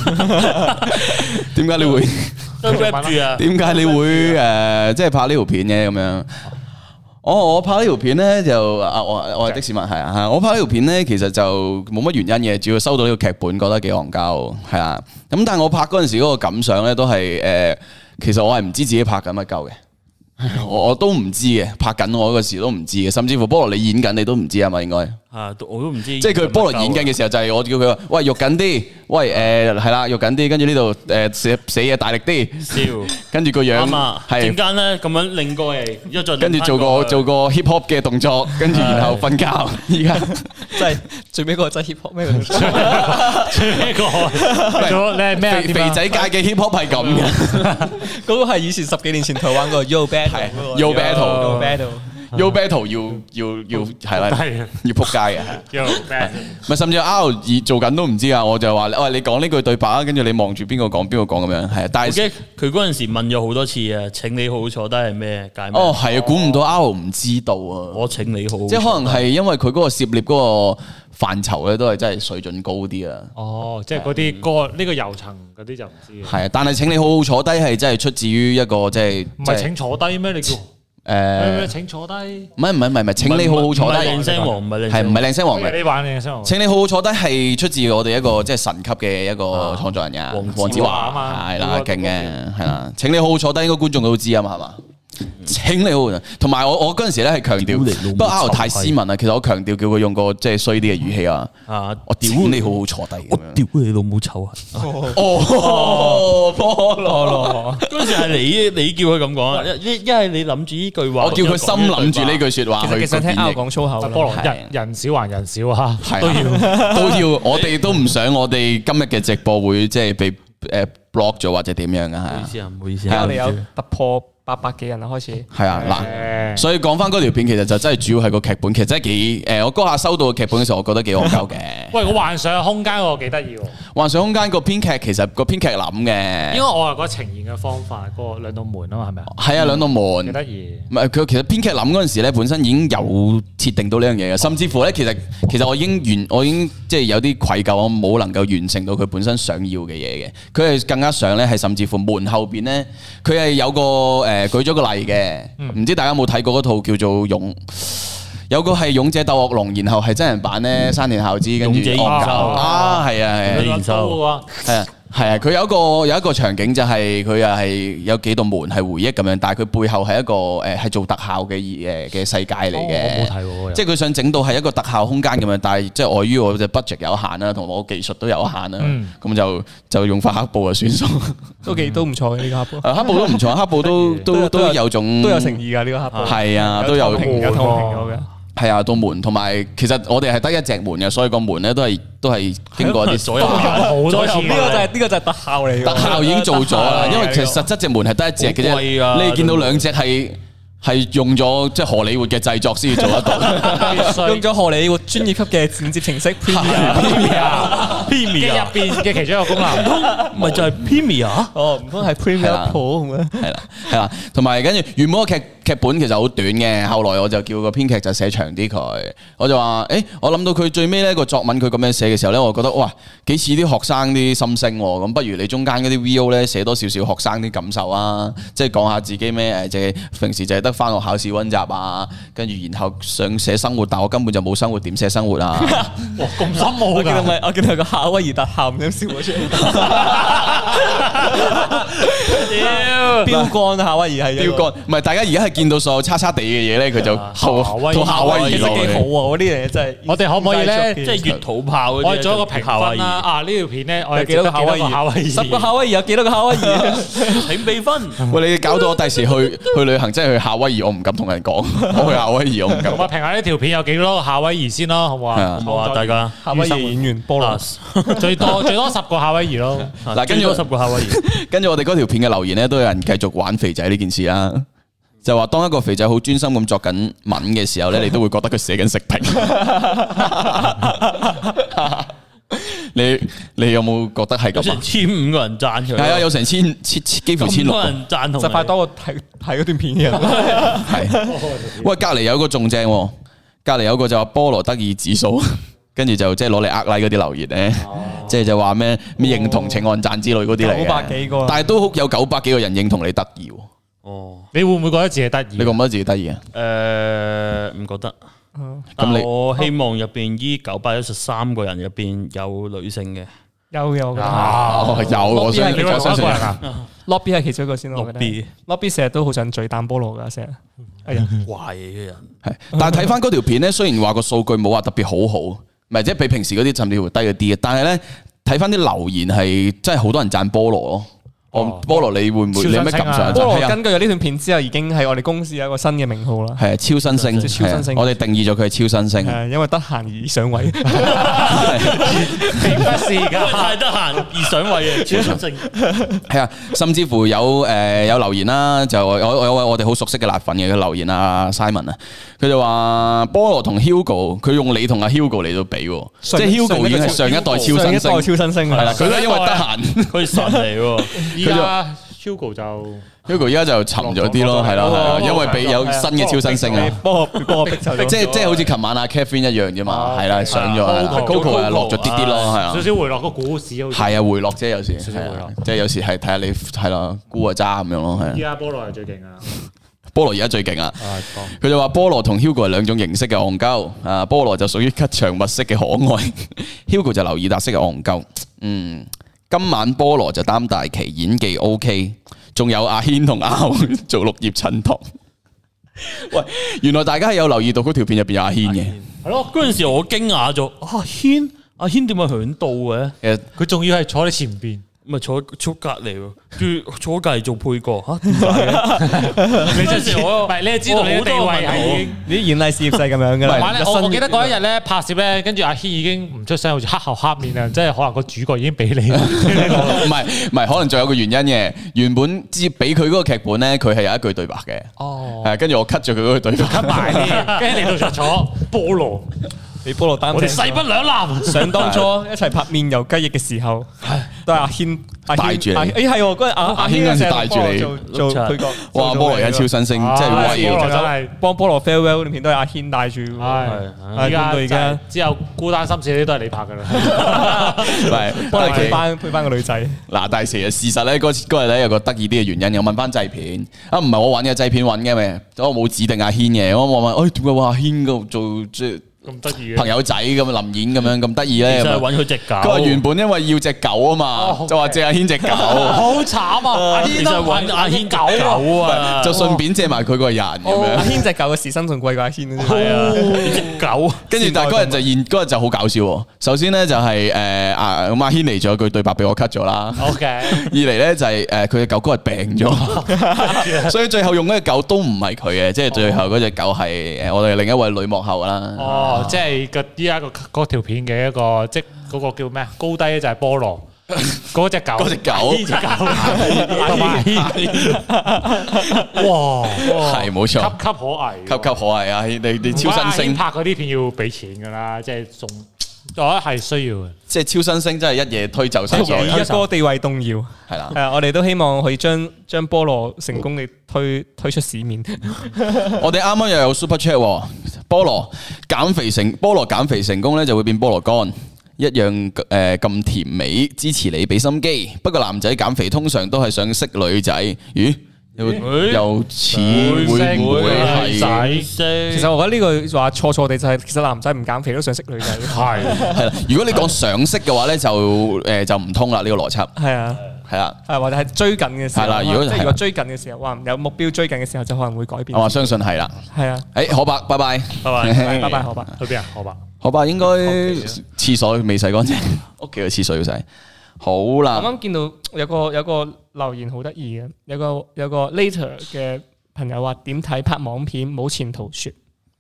[SPEAKER 1] 點解你會點解你會即係拍呢條片嘅咁樣？我拍呢條片咧就我係的士文係啊，我拍呢條片咧其實就冇乜原因嘅，主要收到呢個劇本覺得幾戇鳩係啊。咁但係我拍嗰陣時嗰個感想咧都係其實我係唔知自己拍緊乜鳩嘅。我都唔知嘅，拍緊我嗰時都唔知嘅，甚至乎菠蘿你演緊你都唔知啊嘛，應該
[SPEAKER 4] 我都唔知。
[SPEAKER 1] 即係佢菠蘿演緊嘅時候，就係我叫佢話：喂，肉緊啲，喂係啦，肉緊啲，跟住呢度寫嘢大力啲，
[SPEAKER 4] 笑，
[SPEAKER 1] 跟住個樣
[SPEAKER 4] 係點間咧咁樣擰過嚟，一再
[SPEAKER 1] 跟住做個 hip hop 嘅動作，跟住然後瞓覺。而家
[SPEAKER 2] 真係最尾嗰個真係 hip hop 咩？
[SPEAKER 3] 最尾個你係咩
[SPEAKER 1] 肥仔界嘅 hip hop 係咁嘅，
[SPEAKER 2] 嗰個係以前10幾年前台灣個 Yo Battle，Yo
[SPEAKER 1] Battle。Yo Battle 要係啦，要撲街嘅，咪甚至 R 做緊都唔知啊！我就話喂，你講呢句對白啊，跟住你望住邊個講咁樣，係啊。但係
[SPEAKER 4] 佢嗰陣時問咗好多次啊，請你好坐低係咩？
[SPEAKER 1] 哦，係啊，估唔到 R 唔知道啊！
[SPEAKER 4] 我請你好，
[SPEAKER 1] 即係可能係因為佢嗰個涉獵嗰個範疇咧，都係真係水準高啲啊！
[SPEAKER 3] 哦，即係嗰啲歌呢個遊層嗰啲就唔知嘅。
[SPEAKER 1] 係啊，但係請你好好坐低係真係出自於一個即係
[SPEAKER 3] 唔係請坐低咩？你叫？請坐低，
[SPEAKER 1] 唔係，請你好好坐低。
[SPEAKER 4] 靚聲王唔係
[SPEAKER 1] 靚聲王嘅。
[SPEAKER 3] 你玩靚聲王。
[SPEAKER 1] 請你好好坐低係出自我哋一個即係神級嘅一個創作人呀，黃子華嘛，係啦，勁嘅，係啦。請你好好坐低，應該觀眾都知啊嘛，係嘛？請你好，同埋我嗰陣時咧係強調，不過 R 太斯文啦。其實我強調叫佢用個即係衰啲嘅語氣啊。我屌你好好坐低，
[SPEAKER 4] 我屌你老母臭啊！
[SPEAKER 1] 哦，菠蘿，
[SPEAKER 4] 嗰陣時係你叫佢咁講，一係你諗住呢句話，
[SPEAKER 1] 我叫佢心諗住呢句說話。
[SPEAKER 2] 其實聽 R 講粗口，
[SPEAKER 3] 菠蘿人少還人少啊，都
[SPEAKER 1] 要，我哋都唔想我哋今日嘅直播會即係被block 咗或者點樣啊？
[SPEAKER 4] 唔好意思，
[SPEAKER 2] 我哋有突破800幾人啦，開始
[SPEAKER 1] 係啊嗱，所以講翻嗰條片，其實就真係主要係個劇本，其實真係幾我嗰下收到個劇本嘅時候，我覺得幾戇鳩嘅。
[SPEAKER 3] 喂，我幻想空間嗰個幾得意喎。
[SPEAKER 1] 幻想空間個編劇其實個編劇諗嘅，
[SPEAKER 3] 因為我係覺得呈現嘅方法，嗰兩道門啊嘛，係咪啊？
[SPEAKER 1] 係啊，兩道門
[SPEAKER 3] 幾得意。
[SPEAKER 1] 唔係佢其實編劇諗嗰陣時咧，本身已經有設定到呢樣嘢嘅，甚至乎咧，其實我已經即係有啲愧疚，我冇能夠完成到佢本身想要嘅嘢嘅。佢係更加想咧，係甚至乎門後邊咧，佢係有個舉咗個例嘅，唔知大家有冇睇過嗰套叫做有個係勇者鬥惡龍，然後係真人版咧，山田孝之跟住惡搞啊，係啊，佢有一個場景就係佢又係有幾道門係回憶咁樣，但係佢背後係一個係做特效嘅世界嚟嘅。
[SPEAKER 3] 我冇睇喎，
[SPEAKER 1] 即係佢想整到係一個特效空間咁樣，但係即係礙於我嘅 budget 有限啦，同埋我技術都有限啦，咁就用翻黑布就算數，
[SPEAKER 2] 都唔錯嘅呢個黑布。
[SPEAKER 1] 黑布都唔錯，黑布都有種
[SPEAKER 2] 都有誠意㗎呢個黑布。
[SPEAKER 1] 係啊，都有
[SPEAKER 2] 透明咗嘅。
[SPEAKER 1] 係啊，道門同埋其實我哋係得一隻門嘅，所以個門咧都係經過一啲
[SPEAKER 4] 所有
[SPEAKER 3] 好多次。
[SPEAKER 2] 呢個就係特效嚟嘅。
[SPEAKER 1] 特效已經做咗啦，因為其實實質隻門係得一隻嘅啫，你見到兩隻係用咗即係荷里活嘅製作先至做得到，
[SPEAKER 2] 用咗荷里活專業級嘅剪接程式 Premiere
[SPEAKER 3] 入邊嘅其中一個功能，
[SPEAKER 4] 咪就係 Premiere
[SPEAKER 2] 哦，唔通係 Premiere Pro 咁樣？
[SPEAKER 1] 係啦，同埋跟住原本個劇本其實好短嘅，後來我就叫個編劇就寫長啲佢，我就話我諗到佢最尾呢個作文佢咁樣寫嘅時候咧，我覺得哇幾似啲學生啲心聲喎，咁不如你中間嗰啲 VO 咧寫多少少學生啲感受啊，即係講下自己咩即係平時就係得翻學考試溫習啊，跟住然後想寫生活，但我根本就冇生活，點寫生活啊？
[SPEAKER 3] 哇咁深奧㗎！
[SPEAKER 2] 我見到個夏威夷特效咁笑咗出嚟。標杆夏威夷係
[SPEAKER 1] 標杆，唔係大家而家係見到所有差差地嘅嘢咧，佢就套夏威夷
[SPEAKER 2] 其實幾好啊！嗰啲嘢真係。
[SPEAKER 3] 我哋可唔可以咧，
[SPEAKER 4] 即係越土炮嗰啲？
[SPEAKER 3] 我哋做一個評分啦。呢條片咧，我哋
[SPEAKER 2] 幾多個夏威夷？10個夏威夷有幾多個夏威夷？
[SPEAKER 4] 請俾分。
[SPEAKER 1] 喂，你搞到我第時去旅行，真係去夏威夷，我唔敢同人講。我去夏威夷，我唔敢。
[SPEAKER 3] 我評下呢條片有幾多個夏威夷先咯，好唔好啊？
[SPEAKER 4] 好啊，大家
[SPEAKER 2] 夏威夷演員菠蘿，
[SPEAKER 3] 最多10個夏威夷咯。
[SPEAKER 1] 嗱，跟住
[SPEAKER 4] 10個夏威夷，
[SPEAKER 1] 跟住我哋嗰條片嘅留言咧，都有人繼續玩肥仔呢件事啦。就話當一個肥仔好專心咁作緊文嘅時候咧，你都會覺得佢寫緊食評。你有冇覺得係咁啊
[SPEAKER 4] ？1500個人讚佢，
[SPEAKER 1] 係啊，有成幾乎1600個
[SPEAKER 4] 人讚同，
[SPEAKER 2] 就快多過睇嗰段片嘅人。
[SPEAKER 1] 係，喂，隔籬有個仲正，隔籬有個就話菠蘿得意指數，跟住就即係攞嚟呃 like 嗰啲留言咧，即係就話咩認同請按讚之類嗰啲嚟嘅
[SPEAKER 2] 900幾個，
[SPEAKER 1] 但係都有900幾個人認同你得意。
[SPEAKER 4] 哦，
[SPEAKER 3] 你會唔會覺得自己得意？
[SPEAKER 1] 你覺唔覺得自己得意啊？
[SPEAKER 4] 唔覺得。咁我希望入邊依913個人入邊有女性嘅。
[SPEAKER 2] 有，我覺得
[SPEAKER 1] 有，我相信
[SPEAKER 2] Lobby 係其中一個先，我覺得 Lobby 成日都好想嘴彈菠蘿噶，成日哎呀
[SPEAKER 4] 壞嘅人
[SPEAKER 1] 係，但係睇翻嗰條片咧，雖然話個數據冇話特別好，唔係即係比平時嗰啲甚至乎低咗啲嘅，但係咧睇翻啲留言係真係好多人讚菠蘿咯。菠蘿你會唔會你有咩感想？
[SPEAKER 2] 菠蘿根據咗呢段片之後，已經係我哋公司有一個新嘅名號啦。
[SPEAKER 1] 係超新星，
[SPEAKER 2] 超新星，
[SPEAKER 1] 我哋定義咗佢係超新星。
[SPEAKER 2] 係因為得閒而上位，
[SPEAKER 3] 並不是㗎，
[SPEAKER 4] 太得閒而上位嘅超新星。
[SPEAKER 1] 係啊，甚至乎有留言啦，就我哋好熟悉嘅辣粉嘅留言啊 Simon 啊，佢就話菠蘿同 Hugo， 佢用你同阿 Hugo 嚟到比，即係 Hugo 已經係上一代超新星，係啦，佢都因為得閒，
[SPEAKER 4] 佢神嚟喎。
[SPEAKER 3] 依家 Hugo 就
[SPEAKER 1] Hugo 而家就沉咗啲咯，係啦，因為俾有新嘅超新星啊，
[SPEAKER 2] 菠蘿逼走咗，
[SPEAKER 1] 即係好似琴晚阿 Catherine 一樣啫嘛，係啦，上咗 Coco 係落咗啲啲咯，係啊，
[SPEAKER 3] 少少回落個股市，
[SPEAKER 1] 係啊，回落啫，有時即係有時係睇下你係啦，估啊渣咁樣咯，係。
[SPEAKER 3] 依家菠蘿係最勁啊！
[SPEAKER 1] 菠蘿而家最勁啊！佢就話菠蘿同 Hugo 係兩種形式嘅戇鳩，啊菠蘿就屬於吉祥物式嘅可愛，Hugo 就劉以達式嘅戇鳩，今晚菠蘿就擔大旗，演技 OK， 仲有阿軒同阿豪做綠葉襯托。喂，原來大家係有留意到嗰條片入邊有阿軒嘅。
[SPEAKER 4] 係咯，嗰陣時我驚訝咗，阿軒點解響度嘅？
[SPEAKER 1] 其實
[SPEAKER 3] 佢仲要係坐喺前邊。
[SPEAKER 4] 咪坐隔離喎，跟住坐隔離做配角嚇，點解嘅？
[SPEAKER 3] 你真係我，唔係你係知道你嘅地位係已經，
[SPEAKER 2] 你啲演藝事業係咁樣嘅啦。
[SPEAKER 3] 我記得嗰一日咧拍攝咧，跟住阿軒已經唔出聲，好似黑口黑面啊！即係可能個主角已經俾你，
[SPEAKER 1] 唔係，可能仲有個原因嘅。原本接俾佢嗰個劇本咧，佢係有一句對白嘅。
[SPEAKER 2] 哦，
[SPEAKER 1] 係跟住我 cut 咗佢嗰句對白
[SPEAKER 3] ，cut 埋啲，跟住嚟到就坐菠蘿。
[SPEAKER 2] 你菠蘿擔，
[SPEAKER 3] 我哋勢不兩立。
[SPEAKER 2] 想當初一齊拍麵油雞翼嘅時候，都係阿軒
[SPEAKER 1] 帶住你。
[SPEAKER 2] 係喎，嗰日阿軒嗰陣帶住你做配角。
[SPEAKER 1] 哇！菠蘿而家超新星，真係威
[SPEAKER 3] 啊！真係
[SPEAKER 2] 幫菠蘿 farewell 段片都係阿軒帶住。
[SPEAKER 3] 係而家之後孤單心事啲都係你拍㗎啦。
[SPEAKER 1] 係
[SPEAKER 2] 幫你配翻個女仔。
[SPEAKER 1] 嗱，但係事實咧，嗰日咧有個得意啲嘅原因，我問翻製片啊，唔係我揾嘅，製片揾嘅咩？我冇指定阿軒嘅，我問，點解話阿軒嗰度做即係？
[SPEAKER 3] 咁得意嘅
[SPEAKER 1] 朋友仔咁臨演咁樣咁得意咧，
[SPEAKER 4] 就係揾佢隻狗。
[SPEAKER 1] 佢話原本因為要隻狗啊嘛，就話借阿軒隻狗。
[SPEAKER 3] 好慘啊！阿軒
[SPEAKER 4] 就揾阿軒狗啊，
[SPEAKER 1] 就順便借埋佢個人咁樣。
[SPEAKER 2] 阿軒隻狗嘅時薪仲貴過阿軒啊！
[SPEAKER 4] 係啊，隻狗。
[SPEAKER 1] 跟住但係嗰日就好搞笑喎。首先咧就係阿軒嚟咗句對白俾我 cut 咗啦。
[SPEAKER 3] OK。
[SPEAKER 1] 二嚟咧就係佢隻狗嗰日病咗，所以最後用嗰隻狗都唔係佢嘅，即係最後嗰隻狗係我哋另一位女幕後啦。
[SPEAKER 3] 即係依家嗰條片嘅一個，即係嗰個叫咩？高低就係菠蘿，嗰隻狗，同埋哇，
[SPEAKER 1] 係冇錯，
[SPEAKER 3] 岌岌可危，
[SPEAKER 1] 岌岌可危啊！你超新星
[SPEAKER 3] 拍嗰啲片要俾錢噶啦，即係送，我覺得係需要嘅。
[SPEAKER 1] 即係超新星真係一夜推就晒所有，
[SPEAKER 2] 一哥地位動搖，
[SPEAKER 1] 係啦。
[SPEAKER 2] 係啊，我哋都希望可以將菠蘿成功地推出市面。
[SPEAKER 1] 我哋啱啱又有 Super Chat， 菠蘿減肥成功咧就會變菠蘿乾，一樣咁甜美，支持你俾心機。不過男仔減肥通常都係想識女仔，咦？又似會唔會係？
[SPEAKER 2] 其實我覺得呢句話錯地就係，其實男仔唔減肥都想識女仔。
[SPEAKER 1] 係啦，如果你講想識嘅話咧，就唔通啦呢個邏輯。
[SPEAKER 2] 係啊。
[SPEAKER 1] 係啦，
[SPEAKER 2] 或者係追緊嘅時候，
[SPEAKER 1] 係啦。如果
[SPEAKER 2] 追緊嘅時候，哇，有目標追緊嘅時候，就可能會改變。
[SPEAKER 1] 我相信係啦。
[SPEAKER 2] 係啊。
[SPEAKER 1] 可伯，拜拜，
[SPEAKER 2] 拜拜，可伯。
[SPEAKER 3] 去邊啊？可伯。
[SPEAKER 1] 可伯應該廁所未洗乾淨，屋企嘅廁所要洗。好啦。
[SPEAKER 2] 啱啱見到有個留言好得意嘅，有個 later 嘅朋友話點睇拍網片冇前途說。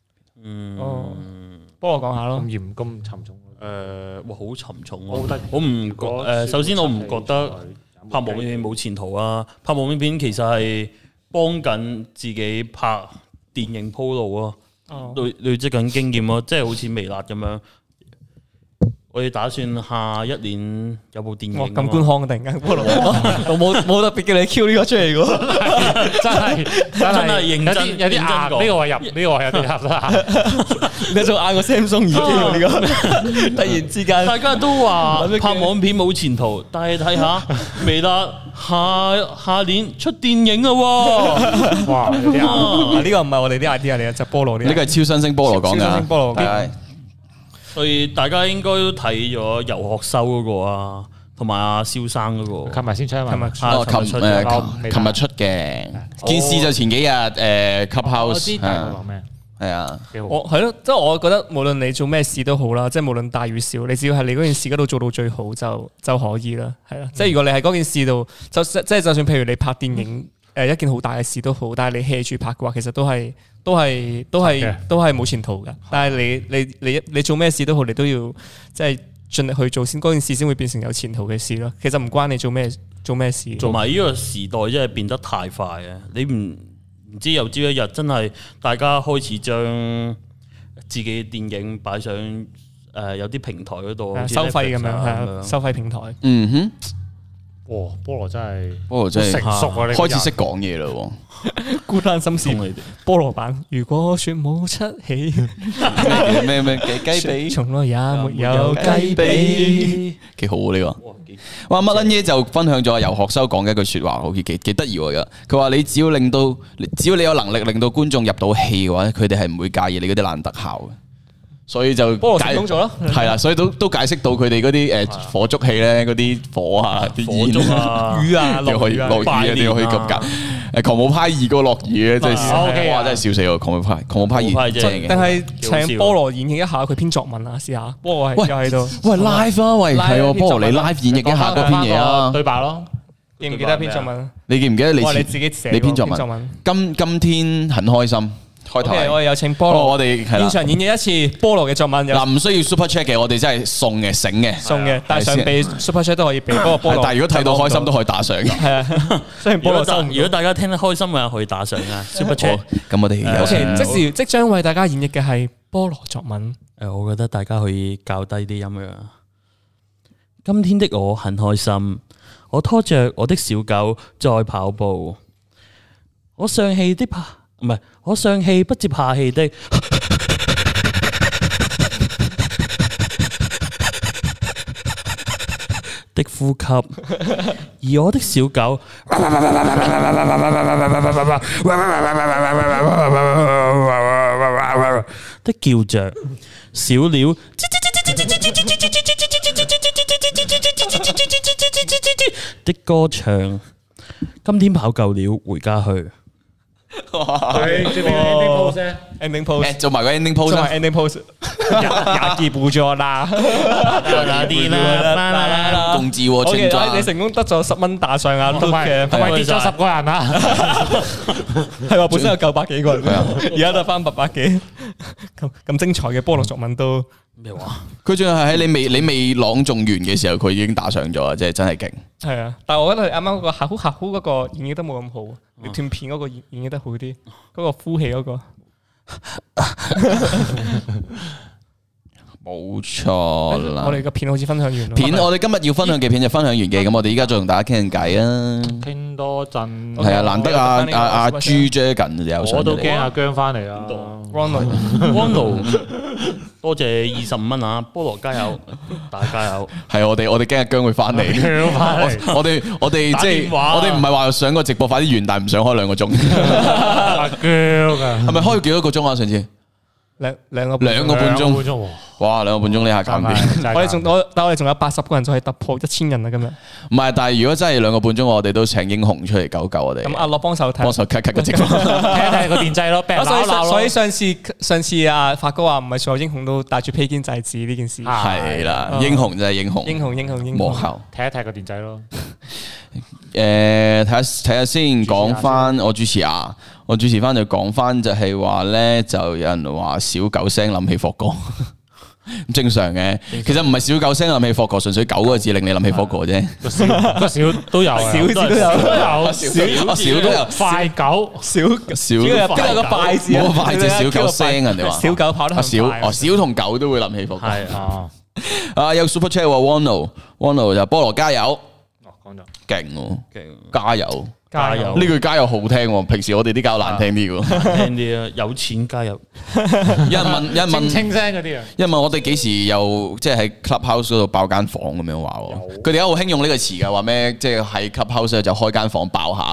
[SPEAKER 2] 幫我講下咯。
[SPEAKER 3] 咁嚴咁沉重。
[SPEAKER 4] 哇，好沉重啊！我唔覺首先我唔覺得拍網片冇前途啊！拍網片其實係幫緊自己拍電影鋪路啊，累積緊經驗咯，即係好似微辣咁樣。我哋打算下一年有部電影。
[SPEAKER 2] 咁官腔突然間，我冇特別叫你 Q 呢個出嚟嘅，
[SPEAKER 4] 真係認真
[SPEAKER 3] 有啲硬，呢個位入，呢個位有啲合啦。
[SPEAKER 2] 你仲硬過 Samsung 耳機喎呢個，突然之間，
[SPEAKER 4] 大家都話拍網片冇前途，但係睇下微辣下年出電影啦喎！
[SPEAKER 2] 哇，呢個唔係我哋啲 idea 嚟嘅，就菠蘿啲。
[SPEAKER 1] 呢個係超新星菠蘿講㗎，
[SPEAKER 2] 菠蘿。
[SPEAKER 4] 所以大家應該都睇咗遊學修嗰個啊， 同埋阿蕭生嗰個，
[SPEAKER 3] 琴日先出啊嘛，
[SPEAKER 1] 琴日出嘅件事就前幾日Clubhouse。
[SPEAKER 3] 我知大概講咩？
[SPEAKER 1] 係啊，
[SPEAKER 2] 我係咯，即係我覺得無論你做咩事都好啦，即係無論大與小，你只要係你嗰件事嗰度做到最好就可以啦，係啦。即係如果你喺嗰件事度，就算譬如你拍電影一件好大嘅事都好，但係你 hea 住拍嘅話，其實都係冇前途㗎。但係你做咩事都好，你都要即係盡力去做先，嗰件事先會變成有前途嘅事咯。其實唔關你做咩事。
[SPEAKER 4] 同埋呢個時代真係變得太快啊！你唔知有朝一日真係大家開始將自己嘅電影擺上有啲平台嗰度
[SPEAKER 2] 收費咁樣，收費平台。
[SPEAKER 1] 嗯哼，
[SPEAKER 3] 哇！菠蘿真係成熟啊！你
[SPEAKER 1] 開始識講嘢啦喎。
[SPEAKER 2] 孤單心事，菠蘿版。如果說冇出戲，
[SPEAKER 1] 咩雞髀，
[SPEAKER 2] 從來也沒有雞髀，
[SPEAKER 1] 幾好啊呢個。哇！乜撚嘢就分享咗游學修講嘅一句説話，好似幾得意喎。佢話你只要你有能力令到觀眾入到戲嘅話，佢哋係唔會介意你嗰啲爛特效嘅。所以就
[SPEAKER 2] 菠蘿成功咗咯，
[SPEAKER 1] 係啦，所以都解釋到佢哋嗰啲火燭戲咧，嗰啲火啊、啲煙啊、
[SPEAKER 2] 雨啊、落雨
[SPEAKER 1] 啊、點可以咁夾？狂舞派2個落雨咧，真係哇！真係笑死我！狂舞派2正嘅，
[SPEAKER 2] 定係請菠蘿演繹一下佢篇作文啊？試下，菠蘿又喺度。
[SPEAKER 1] 喂 live 啊！喂，係喎，菠蘿你 live 演繹一下嗰篇嘢啊！
[SPEAKER 3] 對白咯，
[SPEAKER 2] 記唔記得篇作文？
[SPEAKER 1] 你記唔記得你
[SPEAKER 2] 自己寫
[SPEAKER 1] 你篇作文？今天很開心。開頭
[SPEAKER 2] 我哋有請菠蘿，
[SPEAKER 1] 我哋現
[SPEAKER 2] 場演繹一次菠蘿嘅作文。
[SPEAKER 1] 嗱，唔需要 super chat 嘅，我哋真係送嘅、醒嘅，
[SPEAKER 2] 但係想俾 super chat 都可以俾。不過菠蘿，
[SPEAKER 1] 但係如果睇到開心都可以打賞嘅。
[SPEAKER 2] 係啊，雖然菠蘿收唔到。
[SPEAKER 4] 如果大家聽得開心嘅，可以打賞啊 super chat。
[SPEAKER 1] 咁我哋
[SPEAKER 2] 即將為大家演繹嘅係菠蘿作文。
[SPEAKER 4] 我覺得大家可以校低啲音量。今天的我很開心，我拖着我的小狗在跑步。我上氣不接下氣的呼吸，而我的小狗的叫着，小鳥的歌唱。今天跑夠了，回家去。
[SPEAKER 2] ending pose
[SPEAKER 1] 做埋個 ending pose，ending
[SPEAKER 2] pose 也記不咗啦，
[SPEAKER 1] 共治清裝，
[SPEAKER 2] 你成功得咗10蚊打賞啊，同埋跌咗10個人啊，係話本身有900幾個人，而家得翻800幾，咁精彩嘅菠蘿作文都
[SPEAKER 4] 咩話？
[SPEAKER 1] 佢仲係喺你未朗誦完嘅時候，佢已經打上咗啊！即係真係勁。
[SPEAKER 2] 係啊，但係我覺得佢啱啱嗰個客戶嗰個演繹得冇咁好，你斷片嗰個演繹得好啲，嗰個呼氣嗰個。
[SPEAKER 1] 冇錯啦。
[SPEAKER 2] 我哋個片好似分享完。
[SPEAKER 1] 我哋今日要分享嘅片就分享完嘅，咁我哋依家再同大家傾偈啊。
[SPEAKER 3] 傾多陣。
[SPEAKER 1] 係啊，難得阿朱 Jagan 有上嚟。
[SPEAKER 3] 我都驚阿姜翻嚟啦。
[SPEAKER 4] Ronald，多謝25蚊啊！菠蘿加油，大家加油。係
[SPEAKER 1] 我哋驚阿姜會翻嚟。我哋即係我哋唔係話上個直播快啲完，但係唔想開2個鐘。
[SPEAKER 3] 阿姜啊，
[SPEAKER 1] 係咪開咗幾多個鐘啊？上次
[SPEAKER 2] 兩個
[SPEAKER 1] 半鐘。哇！2個半鐘呢下搞掂。
[SPEAKER 2] 但我哋仲有80個人就可以突破1000人啦今日。
[SPEAKER 1] 唔係，但係如果真係2個半鐘，我哋都請英雄出嚟救我哋。
[SPEAKER 2] 咁阿樂幫手
[SPEAKER 1] cut 個直播，
[SPEAKER 3] 睇個電掣咯。
[SPEAKER 2] 所以上次阿發哥話唔係所有英雄都帶住披肩制止呢件事。
[SPEAKER 1] 係啦，英雄就係英雄。
[SPEAKER 2] 英雄。
[SPEAKER 1] 幕後
[SPEAKER 3] 睇個電掣咯。
[SPEAKER 1] 睇下先，講翻我主持啊，我主持翻就講翻就係話咧，就有人話小狗聲諗起霍哥。正常嘅，其實唔係小狗聲諗起霍哥，純粹9個字令你諗起霍哥啫。
[SPEAKER 3] 個小都有，小字都有，
[SPEAKER 1] 小都有。
[SPEAKER 3] 快狗，小
[SPEAKER 2] 都有個快字，
[SPEAKER 1] 冇個快字，小狗聲人哋話。
[SPEAKER 2] 小狗跑得
[SPEAKER 1] 小同狗都會諗起霍哥。
[SPEAKER 3] 係
[SPEAKER 1] 有 super chat 話 Wano 就菠蘿加油。
[SPEAKER 3] 講咗
[SPEAKER 1] 勁加油！呢句加油好聽，平時我哋啲加油難聽啲嘅，
[SPEAKER 4] 聽啲啊，有錢加油。
[SPEAKER 1] 有人問
[SPEAKER 3] 清聲嗰啲啊，
[SPEAKER 1] 有人問我哋幾時又即係喺 Clubhouse 嗰度爆間房咁樣話，佢哋而家好興用呢個詞嘅，話咩即係喺 Clubhouse 就開間房爆下，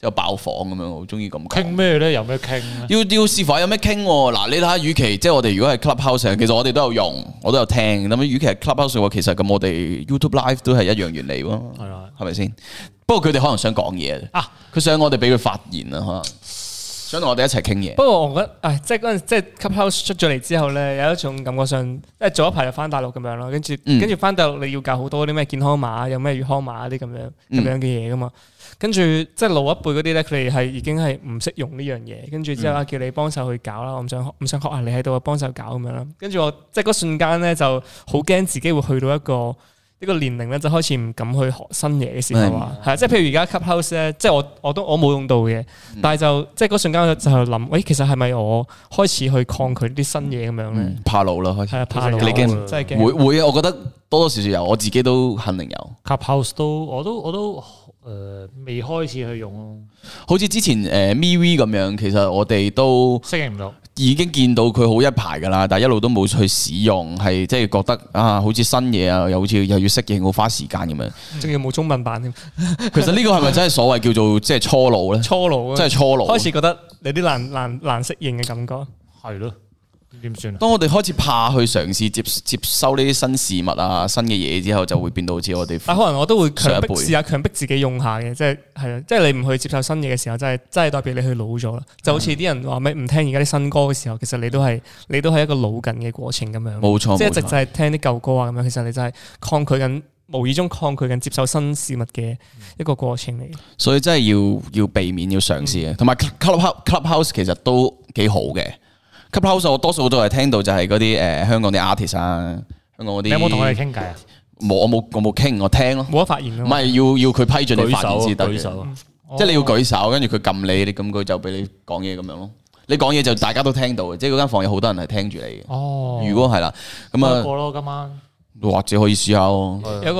[SPEAKER 1] 之後爆房咁樣，好中意咁講。
[SPEAKER 3] 傾咩咧？有咩傾咧？
[SPEAKER 1] 要視乎有咩傾喎。嗱，你睇下，與其即係我哋如果係 Clubhouse，其實我哋都有用，我都有聽。咁與其係 Clubhouse 嘅話，其實咁我哋 YouTube Live 都係一樣原理喎。係啦，係咪先？不過佢哋可能想講嘢啊，佢想我哋俾佢發言啊，可能想同我哋一齊傾嘢。
[SPEAKER 2] 不過我覺得，即係嗰陣即係 Clubhouse 出咗嚟之後咧，有一種感覺上，即係早一排就翻大陸咁樣咯，跟住翻大陸你要教好多啲咩健康碼，有咩粵康碼啲咁樣嘅嘢噶嘛。跟住即係老一輩嗰啲咧，佢哋係已經係唔識用呢樣嘢，跟住之後叫你幫手去搞啦，我唔想學下你喺度幫手搞咁樣啦。跟住我即係嗰瞬間咧，就好驚自己會去到一個年齡咧，就開始唔敢去學新嘢嘅時候啊，係即係譬如而家 Clubhouse 咧，即係我冇用到嘅，但係就即係嗰瞬間就諗，喂，其實係咪我開始去抗拒啲新嘢咁樣咧？
[SPEAKER 1] 怕老啦，開始
[SPEAKER 2] 係啊，怕老，
[SPEAKER 1] 你驚
[SPEAKER 2] 真係驚。
[SPEAKER 1] 會啊，我覺得多多少少有，我自己都肯定有。
[SPEAKER 3] Clubhouse 我都未開始去用咯。
[SPEAKER 1] 好似之前MeWe 咁樣，其實我哋都
[SPEAKER 3] 適應唔到。
[SPEAKER 1] 已經見到佢好一排噶啦，但係一路都冇去使用，係即係覺得啊，好似新嘢啊，又好似又要適應，好花時間咁樣。
[SPEAKER 2] 仲要冇中文版添。
[SPEAKER 1] 其實呢個係咪真係所謂叫做即係初老咧？
[SPEAKER 2] 初老，
[SPEAKER 1] 真係初老。
[SPEAKER 2] 開始覺得有啲難適應嘅感覺。
[SPEAKER 3] 係咯。點算啊？
[SPEAKER 1] 當我哋開始怕去嘗試接收呢啲新事物啊、新嘅嘢之後，就會變到好似我哋。
[SPEAKER 2] 但可能我都會試下強迫自己用下嘅，即係啊，即係你唔去接受新嘢嘅時候，真係代表你去老咗啦。就好似啲人話咩唔聽而家啲新歌嘅時候，其實你都係一個老緊嘅過程咁樣。
[SPEAKER 1] 冇錯，
[SPEAKER 2] 即係一直就係聽啲舊歌啊咁樣，其實你就係抗拒緊，無意中抗拒緊接受新事物嘅一個過程嚟。
[SPEAKER 1] 所以真係要避免要嘗試嘅，同埋 Clubhouse 其實都幾好嘅。Clubhouse 我多數都係聽到就係嗰啲香港啲 artist 啊，香港嗰啲。
[SPEAKER 3] 你有冇同佢哋傾偈啊？
[SPEAKER 1] 冇，我冇傾，我聽咯。
[SPEAKER 2] 冇得發言咯。
[SPEAKER 1] 唔係要佢批准你發言先得嘅，即係你要舉手，跟住佢撳你，咁佢就俾你講嘢咁樣咯。你講嘢就大家都聽到嘅，即係嗰間房有好多人係聽住你嘅。
[SPEAKER 3] 哦，
[SPEAKER 1] 如果係啦，咁啊，
[SPEAKER 3] 過咯今晚，
[SPEAKER 1] 或者可以試下咯。
[SPEAKER 2] 有個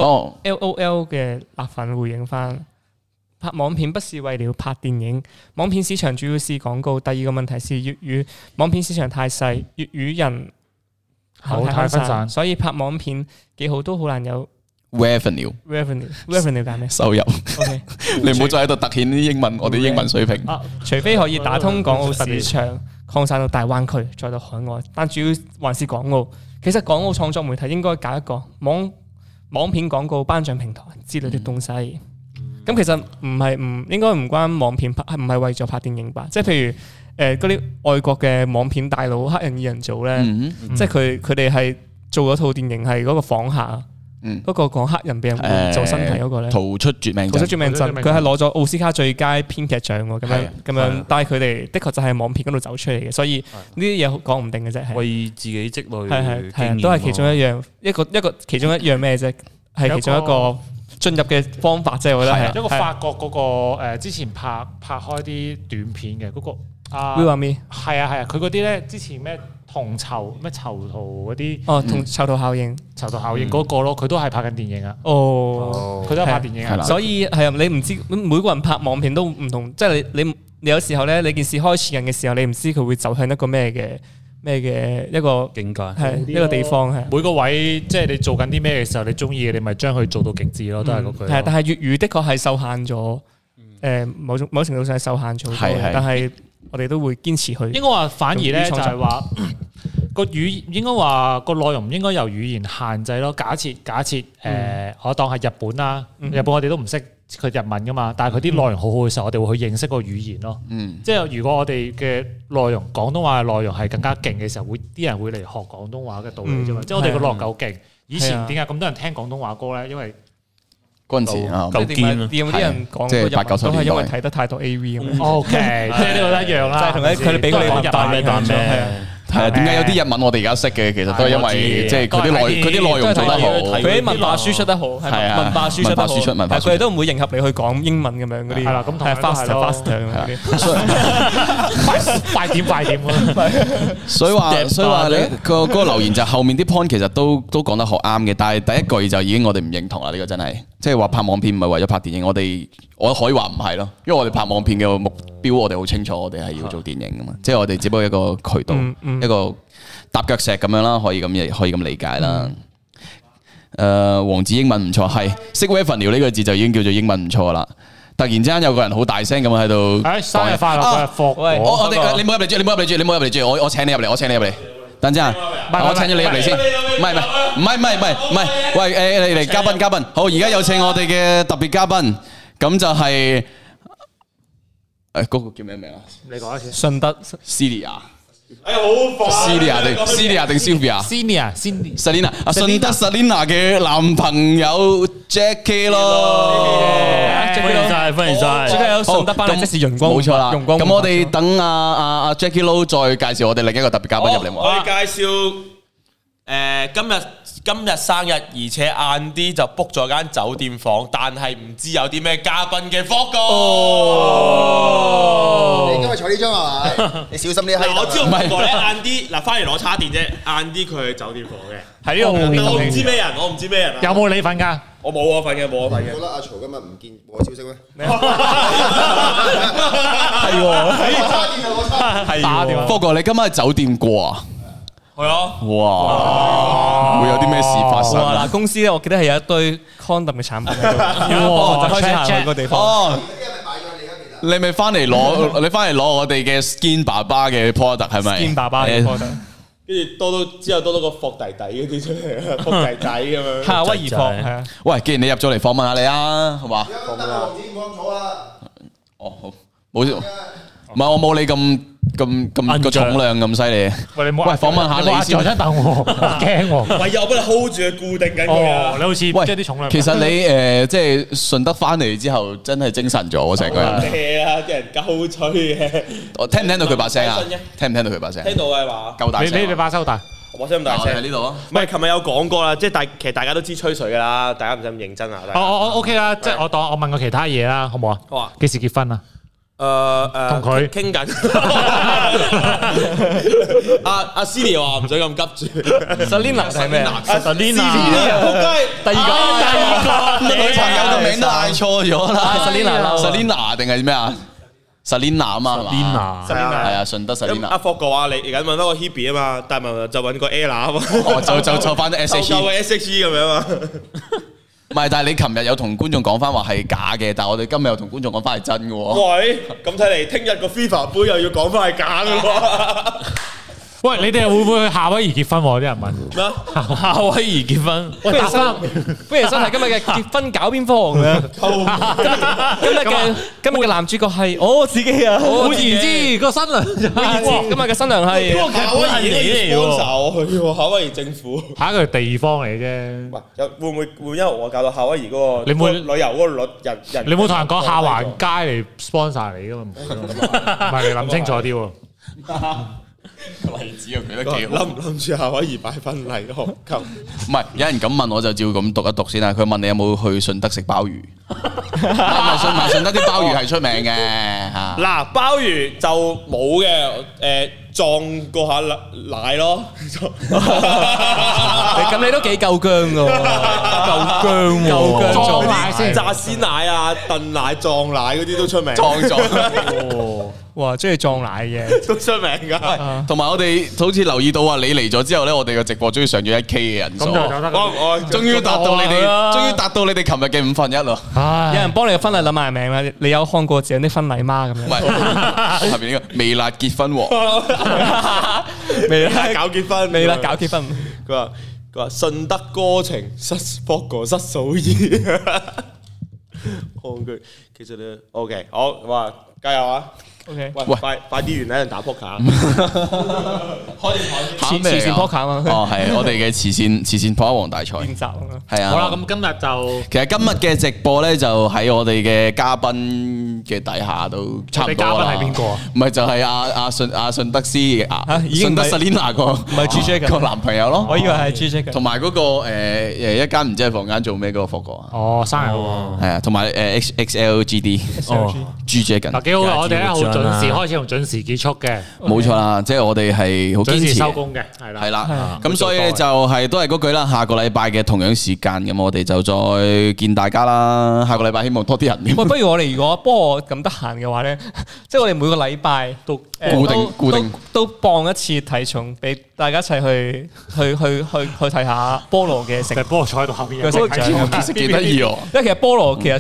[SPEAKER 2] LOL 嘅辣粉回應翻。拍網片不是為了拍電影，網片市場主要是廣告。第二個問題是粵語網片市場太細，粵語人口太分散，所以拍網片幾好都好難有
[SPEAKER 1] revenue
[SPEAKER 2] 但係咩
[SPEAKER 1] 收入
[SPEAKER 2] ？OK，
[SPEAKER 1] 你唔好再喺度突顯啲英文，我哋英文水平。
[SPEAKER 2] 除非可以打通港澳市場，擴散到大灣區，再到海外，但主要還是港澳。其實港澳創作媒體應該搞一個網片廣告頒獎平台之類嘅東西。咁其實應該唔關網片拍，唔係為咗拍電影吧？即係譬如嗰啲外國嘅網片大佬黑人二人組咧，即係佢哋係做咗套電影係嗰個訪客，嗰個講黑人俾人做身體嗰個咧，逃出絕命鎮，佢係攞咗奧斯卡最佳編劇獎喎，咁樣，但係佢哋的確就係網片嗰度走出嚟嘅，所以呢啲嘢講唔定嘅啫，
[SPEAKER 4] 為自己積累
[SPEAKER 2] 係都係其中一個其中一樣咩啫，係其中一個進入嘅方法啫，我覺得係
[SPEAKER 3] 一個法國嗰個之前拍開啲短片嘅嗰個
[SPEAKER 2] Will Army
[SPEAKER 3] 係啊，佢嗰啲咧之前咩銅籌咩囚徒嗰啲
[SPEAKER 2] 同囚徒效應
[SPEAKER 3] 嗰個咯，佢都係拍緊電影啊，佢都係拍電影啊，
[SPEAKER 2] 所以係啊，你唔知每個人拍網片都唔同，即係你有時候咧，你件事開始緊嘅時候，你唔知佢會走向一個咩嘅一個
[SPEAKER 4] 境界，
[SPEAKER 2] 係一個地方係
[SPEAKER 3] 每個位，即係你做緊啲咩嘅時候，你中意嘅，你咪將佢做到極致咯，都係嗰句。
[SPEAKER 2] 係，但係粵語的確係受限咗，某程度上係受限咗，但係我哋都會堅持去。
[SPEAKER 3] 應該話反而咧就係話個語，應該話個內容唔應該由語言限制咯。假設我當係日本啦，日本我哋都唔識佢日文噶嘛，但係佢啲內容好好嘅時候，我哋會去認識個語言咯。即係如果我哋嘅內容廣東話嘅內容係更加勁嘅時候，啲人會嚟學廣東話嘅道理啫嘛。即係我哋個內容夠勁，以前點解咁多人聽廣東話歌咧？因為
[SPEAKER 1] 嗰陣時
[SPEAKER 2] 夠堅啦，啲人講
[SPEAKER 1] 即係8、9、10
[SPEAKER 2] 都係因為睇得太多 AV 咁。
[SPEAKER 3] OK，即係呢個一樣啦，
[SPEAKER 2] 就係同佢哋俾佢哋
[SPEAKER 4] 彈咩？
[SPEAKER 1] 係啊，點解有啲日文我哋而家識嘅，其實都係因為即係佢啲內容做得好，
[SPEAKER 2] 佢啲文化輸出得好，係文化輸出得好，但係佢哋都唔會迎合你去講英文咁樣嗰啲。係啦，咁係 faster
[SPEAKER 3] 快點
[SPEAKER 1] 所以話你個留言就後面啲 point 其實都講得好啱嘅，但係第一句就已經我哋唔認同啦。呢個真係即係話拍網片唔係為咗拍電影，我可以話唔係咯，因為我哋拍網片嘅目標我哋好清楚，我哋係要做電影噶嘛，即係我哋只不過一個渠道，一個踏腳石咁樣啦，可以咁理解啦。黃子英文唔錯，係識 revenue 呢個字就已經叫做英文唔錯啦。 突然之間有個人好大聲咁喺度，
[SPEAKER 3] 生日快樂嗰日霍，
[SPEAKER 1] 我哋你唔好入嚟住，你唔好入嚟住，我請你入嚟，等陣啊，我請咗你入嚟先，唔係，喂，嚟嘉賓，好，而家有請我哋嘅特別嘉賓，咁就係嗰個叫咩名啊？
[SPEAKER 3] 你講一次，
[SPEAKER 2] 順德
[SPEAKER 1] Celia。
[SPEAKER 4] 哎呀，好快
[SPEAKER 1] Celia 定 Sylvia？Selina 啊，順德 Selina 嘅男朋友 Jackie 咯，
[SPEAKER 4] 歡迎晒，
[SPEAKER 2] 最近有順德班嚟，即是陽光，
[SPEAKER 1] 冇錯啦。
[SPEAKER 2] 陽光。
[SPEAKER 1] 咁我哋等阿 Jackie Lou 再介紹我哋另一個特別嘉賓入嚟。
[SPEAKER 5] 我哋介紹今日生日，而且晏啲就 book 咗間酒店房，但係唔知有啲咩嘉賓嘅 Fog
[SPEAKER 6] 你今日坐呢張係咪？你小心啲閪。
[SPEAKER 5] 我知道不過咧晏啲嗱翻嚟攞叉電啫，晏啲佢去酒店房嘅。
[SPEAKER 2] 喺呢度，
[SPEAKER 5] 我唔知咩人，我唔知咩人。
[SPEAKER 3] 有冇你份㗎？
[SPEAKER 5] 我冇我份嘅，冇我份嘅。
[SPEAKER 6] 覺得阿曹今日唔見我消息咩？
[SPEAKER 2] 係打電話。
[SPEAKER 1] 不過你今晚喺酒店過啊？
[SPEAKER 5] 係啊！
[SPEAKER 1] 哇！會有啲咩事發生啊？
[SPEAKER 2] 嗱，公司咧，我記得係有一堆 condom 嘅產品喺度，就開始行去個地方。
[SPEAKER 1] 哦，你咪翻嚟攞，你翻嚟攞我哋嘅 Skin 爸爸嘅 product 係咪
[SPEAKER 2] Skin 爸爸嘅 product，
[SPEAKER 5] 跟住之後多個霍弟弟嗰啲出嚟啊，霍弟弟咁樣。
[SPEAKER 2] 夏威夷霍係啊。
[SPEAKER 1] 喂，既然你入咗嚟訪問下你啊，好嘛？
[SPEAKER 6] 王子冇坐啊！
[SPEAKER 1] 哦，好，冇事，唔係我冇你咁個重量咁犀利。
[SPEAKER 3] 喂，你冇
[SPEAKER 1] 喂，訪問下你先。
[SPEAKER 3] 我真等我驚喎。
[SPEAKER 5] 喂，我幫你 hold 住佢，固定緊佢啊！
[SPEAKER 3] 你好似即係啲重量。
[SPEAKER 1] 其實你即係順德翻嚟之後，真係精神咗喎，成個人。
[SPEAKER 5] 係啊，啲人鳩吹嘅。
[SPEAKER 1] 我聽唔聽到佢把聲啊？聽唔聽到佢把聲？
[SPEAKER 5] 聽到嘅話，
[SPEAKER 1] 夠大聲。
[SPEAKER 3] 你把聲好大。
[SPEAKER 5] 我聲咁大聲
[SPEAKER 1] 喺呢度啊！
[SPEAKER 5] 唔係，琴日有講過啦，即係其實大家都知吹水噶啦，大家唔使咁認真啊。
[SPEAKER 3] 我 OK 啦，即係我問過其他嘢啦，好唔好啊？
[SPEAKER 5] 好啊。
[SPEAKER 3] 幾時結婚啊？
[SPEAKER 5] 同
[SPEAKER 3] 佢
[SPEAKER 5] 傾緊。阿 Celia 話唔使咁急住。
[SPEAKER 2] Selina 係咩啊
[SPEAKER 5] ？Selina，
[SPEAKER 2] 第二個
[SPEAKER 1] 女朋友個名都嗌錯咗啦。Selina 定係咩啊？Selina 啊嘛，係啊，順德 Selina。
[SPEAKER 5] 阿霍嘅話，你而家揾翻個 Hebe 啊嘛，但係就揾個 Ella 啊嘛。
[SPEAKER 1] 就翻啲 SHE
[SPEAKER 5] 咁樣啊。
[SPEAKER 1] 唔係，但係你琴日有同觀眾講翻話係假嘅，但係我哋今日又同觀眾講翻係真嘅喎。
[SPEAKER 5] 喂，咁睇嚟聽日個 FIFA 杯又要講翻係假嘅喎。
[SPEAKER 3] 喂，你哋會唔會去夏威夷結婚？啲人問
[SPEAKER 5] 咩？夏威夷結婚？
[SPEAKER 2] 不如收睇今日嘅結婚搞邊科咁樣。今日嘅男主角係我自己啊，
[SPEAKER 3] 換言之個新娘，
[SPEAKER 2] 今日嘅新娘係
[SPEAKER 5] 夏威夷嚟喎，夏威夷政府。
[SPEAKER 3] 下一個地方嚟啫。
[SPEAKER 5] 喂，會唔會因為我搞到夏威夷嗰個
[SPEAKER 3] 你會
[SPEAKER 5] 旅遊嗰個率人？
[SPEAKER 3] 你冇同人講下環街嚟 sponsor 你噶嘛？唔係你諗清楚啲喎。
[SPEAKER 1] 例子啊，佢都幾好。
[SPEAKER 5] 諗唔諗住夏威夷擺婚禮學球？
[SPEAKER 1] 唔係，有人咁問我就照咁讀一讀先啦。佢問你有冇去順德食鮑魚？順德啲鮑魚係出名嘅嚇。
[SPEAKER 5] 嗱，鮑魚就冇嘅，撞過下奶咯。
[SPEAKER 2] 咁你都幾夠薑㗎喎，夠薑
[SPEAKER 3] 撞奶先，
[SPEAKER 5] 炸鮮奶啊、燉奶、撞奶嗰啲都出名。
[SPEAKER 1] 撞咗。
[SPEAKER 2] 哇，中意撞奶嘅
[SPEAKER 5] 都出名㗎。
[SPEAKER 1] 同埋我哋好似留意到啊，你嚟咗之後咧，我哋嘅直播終於上咗1K 嘅人數。
[SPEAKER 5] 我
[SPEAKER 1] 終於達到你哋琴日嘅5分1咯。
[SPEAKER 2] 有人幫你嘅婚禮諗埋名啦，你有看過這樣的婚禮嗎？咁樣。
[SPEAKER 1] 唔係，下邊呢個微辣結婚喎。
[SPEAKER 5] 微辣搞結婚，
[SPEAKER 2] 微辣搞結婚。
[SPEAKER 5] 佢話順德歌情失博過失數二。抗拒，其實咧 OK， 好，哇，加油啊！
[SPEAKER 2] OK，
[SPEAKER 5] 喂，快啲完啦，打撲克。
[SPEAKER 2] 慈善撲克啊嘛。
[SPEAKER 1] 哦，係我哋嘅慈善撲克王大賽。
[SPEAKER 2] 練習
[SPEAKER 1] 係啊。
[SPEAKER 3] 好啦，咁今日就
[SPEAKER 1] 其實今日嘅直播咧，就喺我哋嘅嘉賓嘅底下都差唔多啦。
[SPEAKER 3] 嘉賓係邊個啊？
[SPEAKER 1] 唔係就係阿順德斯順德 Selina 個
[SPEAKER 2] 唔係 GJ
[SPEAKER 1] 個男朋友咯。
[SPEAKER 2] 我以為係 GJ
[SPEAKER 1] 同埋嗰個一間唔知係房間做咩嗰個霍哥啊。
[SPEAKER 3] 哦，生日喎。
[SPEAKER 1] 係啊，同埋XLGD。哦，GJ 緊。
[SPEAKER 3] 嗱，幾好啊！我哋咧好準時開始同準時結束嘅。
[SPEAKER 1] 冇錯啦，即係我哋係好堅持
[SPEAKER 3] 收工嘅，係啦。
[SPEAKER 1] 係啦，咁所以就係都係嗰句啦。下個禮拜嘅同樣時間，咁我哋就再見大家啦。下個禮拜希望多啲人。
[SPEAKER 2] 喂，不如我哋如果幫我咁得閒嘅話咧，即係我哋每個禮拜都固定都磅一次體重，俾大家一齊去睇下菠蘿嘅成。
[SPEAKER 3] 菠蘿坐喺度後邊，
[SPEAKER 1] 其實幾得意喎。
[SPEAKER 2] 因為其實菠蘿其實雖然係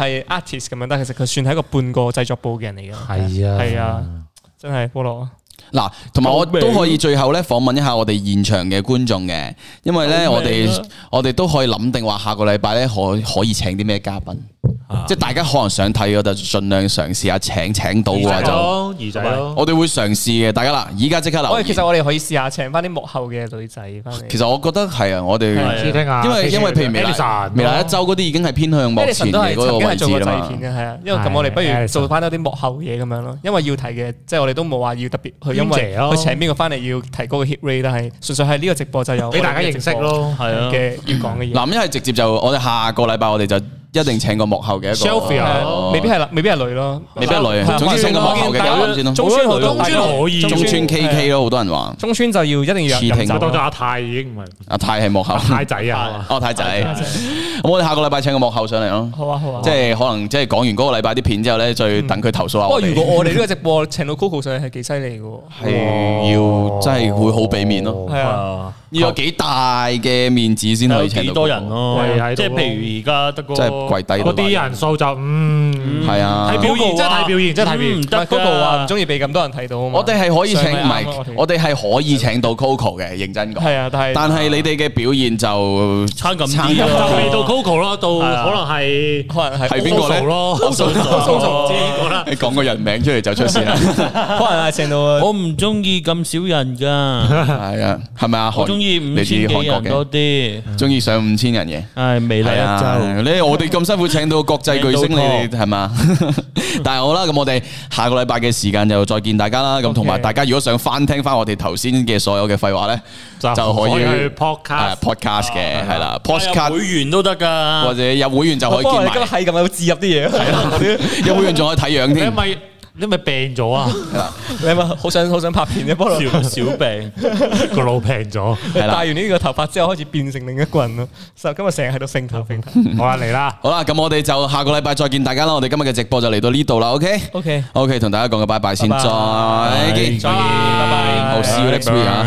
[SPEAKER 2] 係 artist 咁樣，但係其實佢算係一個半個製作部嘅人嚟嘅。係啊，真係菠蘿。
[SPEAKER 1] 嗱，同埋我都可以最後咧訪問一下我哋現場嘅觀眾嘅，因為咧我哋都可以諗定話下個禮拜咧可以請啲咩嘉賓。即係大家可能想睇嘅就盡量嘗試下請到嘅話就
[SPEAKER 3] 兒仔咯，
[SPEAKER 1] 我哋會嘗試嘅。大家啦，而家即刻留意。
[SPEAKER 2] 其實我哋可以試下請翻啲幕後嘅女仔翻嚟。
[SPEAKER 1] 其實我覺得係啊，我哋因為譬如微辣一周嗰啲已經係偏向幕前嘅嗰個位置啦嘛。
[SPEAKER 2] 係啊，因為咁我哋不如做翻多啲幕後嘢咁樣咯。因為要提嘅，即係我哋都冇話要特別去，因為佢請邊個翻嚟要提高個 hit rate，但係純粹係呢個直播就有
[SPEAKER 3] 俾大家認識咯，係啊
[SPEAKER 2] 嘅要講嘅嘢。
[SPEAKER 1] 嗱，因為直接就我哋下個禮拜我哋就一定請個幕後嘅一個，
[SPEAKER 2] 未必係女咯，
[SPEAKER 1] 未必係女。總之請個幕後嘅嘉賓先咯。
[SPEAKER 2] 中村可以，
[SPEAKER 1] 中村 KK 咯，好多人話。
[SPEAKER 2] 中村就要一定要入。
[SPEAKER 3] 當咗阿泰已經唔係。
[SPEAKER 1] 阿泰係幕後。
[SPEAKER 3] 泰仔啊！
[SPEAKER 1] 太仔。咁我哋下個禮拜請個幕後上嚟咯。
[SPEAKER 2] 好啊。
[SPEAKER 1] 即係可能即係講完嗰個禮拜啲片之後咧，再等佢投訴下我哋。
[SPEAKER 2] 不過如果我哋呢個直播請到 Coco 上嚟係幾犀利嘅喎。
[SPEAKER 1] 係要真係會好俾面咯。
[SPEAKER 2] 係啊。
[SPEAKER 1] 要有幾大嘅面子先可以請到。
[SPEAKER 4] 幾多人咯？即係譬如而家得個。
[SPEAKER 1] 即係跪低。
[SPEAKER 3] 嗰啲人數就
[SPEAKER 1] 係啊，
[SPEAKER 3] 睇表現，真係睇表現，真係睇表現。
[SPEAKER 2] 唔得 Coco 話唔中意俾咁多人睇到啊嘛。
[SPEAKER 1] 我哋係可以請，唔係我哋係可以請到 Coco 嘅，認真講。
[SPEAKER 2] 係啊，但
[SPEAKER 1] 係你哋嘅表現就
[SPEAKER 4] 差咁
[SPEAKER 3] 啲，就未到 Coco 咯，到可能係
[SPEAKER 1] 邊個咧？
[SPEAKER 3] 蘇蘇
[SPEAKER 1] 你講個人名出嚟就出事啦。
[SPEAKER 2] 可能係請到
[SPEAKER 4] 我唔中意咁少人㗎。
[SPEAKER 1] 係啊，係咪啊？
[SPEAKER 4] 我中意5000幾人多啲，
[SPEAKER 1] 中意上5000人嘅。
[SPEAKER 4] 係微辣一周。
[SPEAKER 1] 你我哋咁辛苦請到國際巨星，你哋係嘛？但係好啦，咁我哋下個禮拜嘅時間就再見大家啦。咁同埋大家如果想翻聽翻我哋頭先嘅所有嘅廢話咧，就可以
[SPEAKER 3] 去 podcast
[SPEAKER 1] 嘅係啦 ，podcast
[SPEAKER 4] 會員都得㗎，
[SPEAKER 1] 或者入會員就可以見埋。
[SPEAKER 2] 你今日係咁有置入啲嘢，係啦，
[SPEAKER 1] 入會員仲可以睇樣添。
[SPEAKER 3] 你咪病咗啊？
[SPEAKER 2] 你係咪好想拍片嘅？菠蘿
[SPEAKER 4] 小病
[SPEAKER 3] 個腦病咗，
[SPEAKER 2] 戴完呢個頭髮之後開始變成另一個人咯。今日成日喺度揈頭揈頭。
[SPEAKER 3] 好啦，嚟啦，
[SPEAKER 1] 好啦，咁我哋就下個禮拜再見大家啦。我哋今日嘅直播就嚟到呢度啦。OK，同大家講個拜拜先，再見，
[SPEAKER 2] 拜拜，
[SPEAKER 1] 好，see you next week 啊，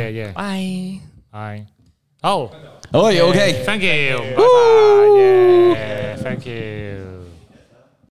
[SPEAKER 3] 拜，好
[SPEAKER 1] ，OK，
[SPEAKER 3] thank you，拜拜，thank you。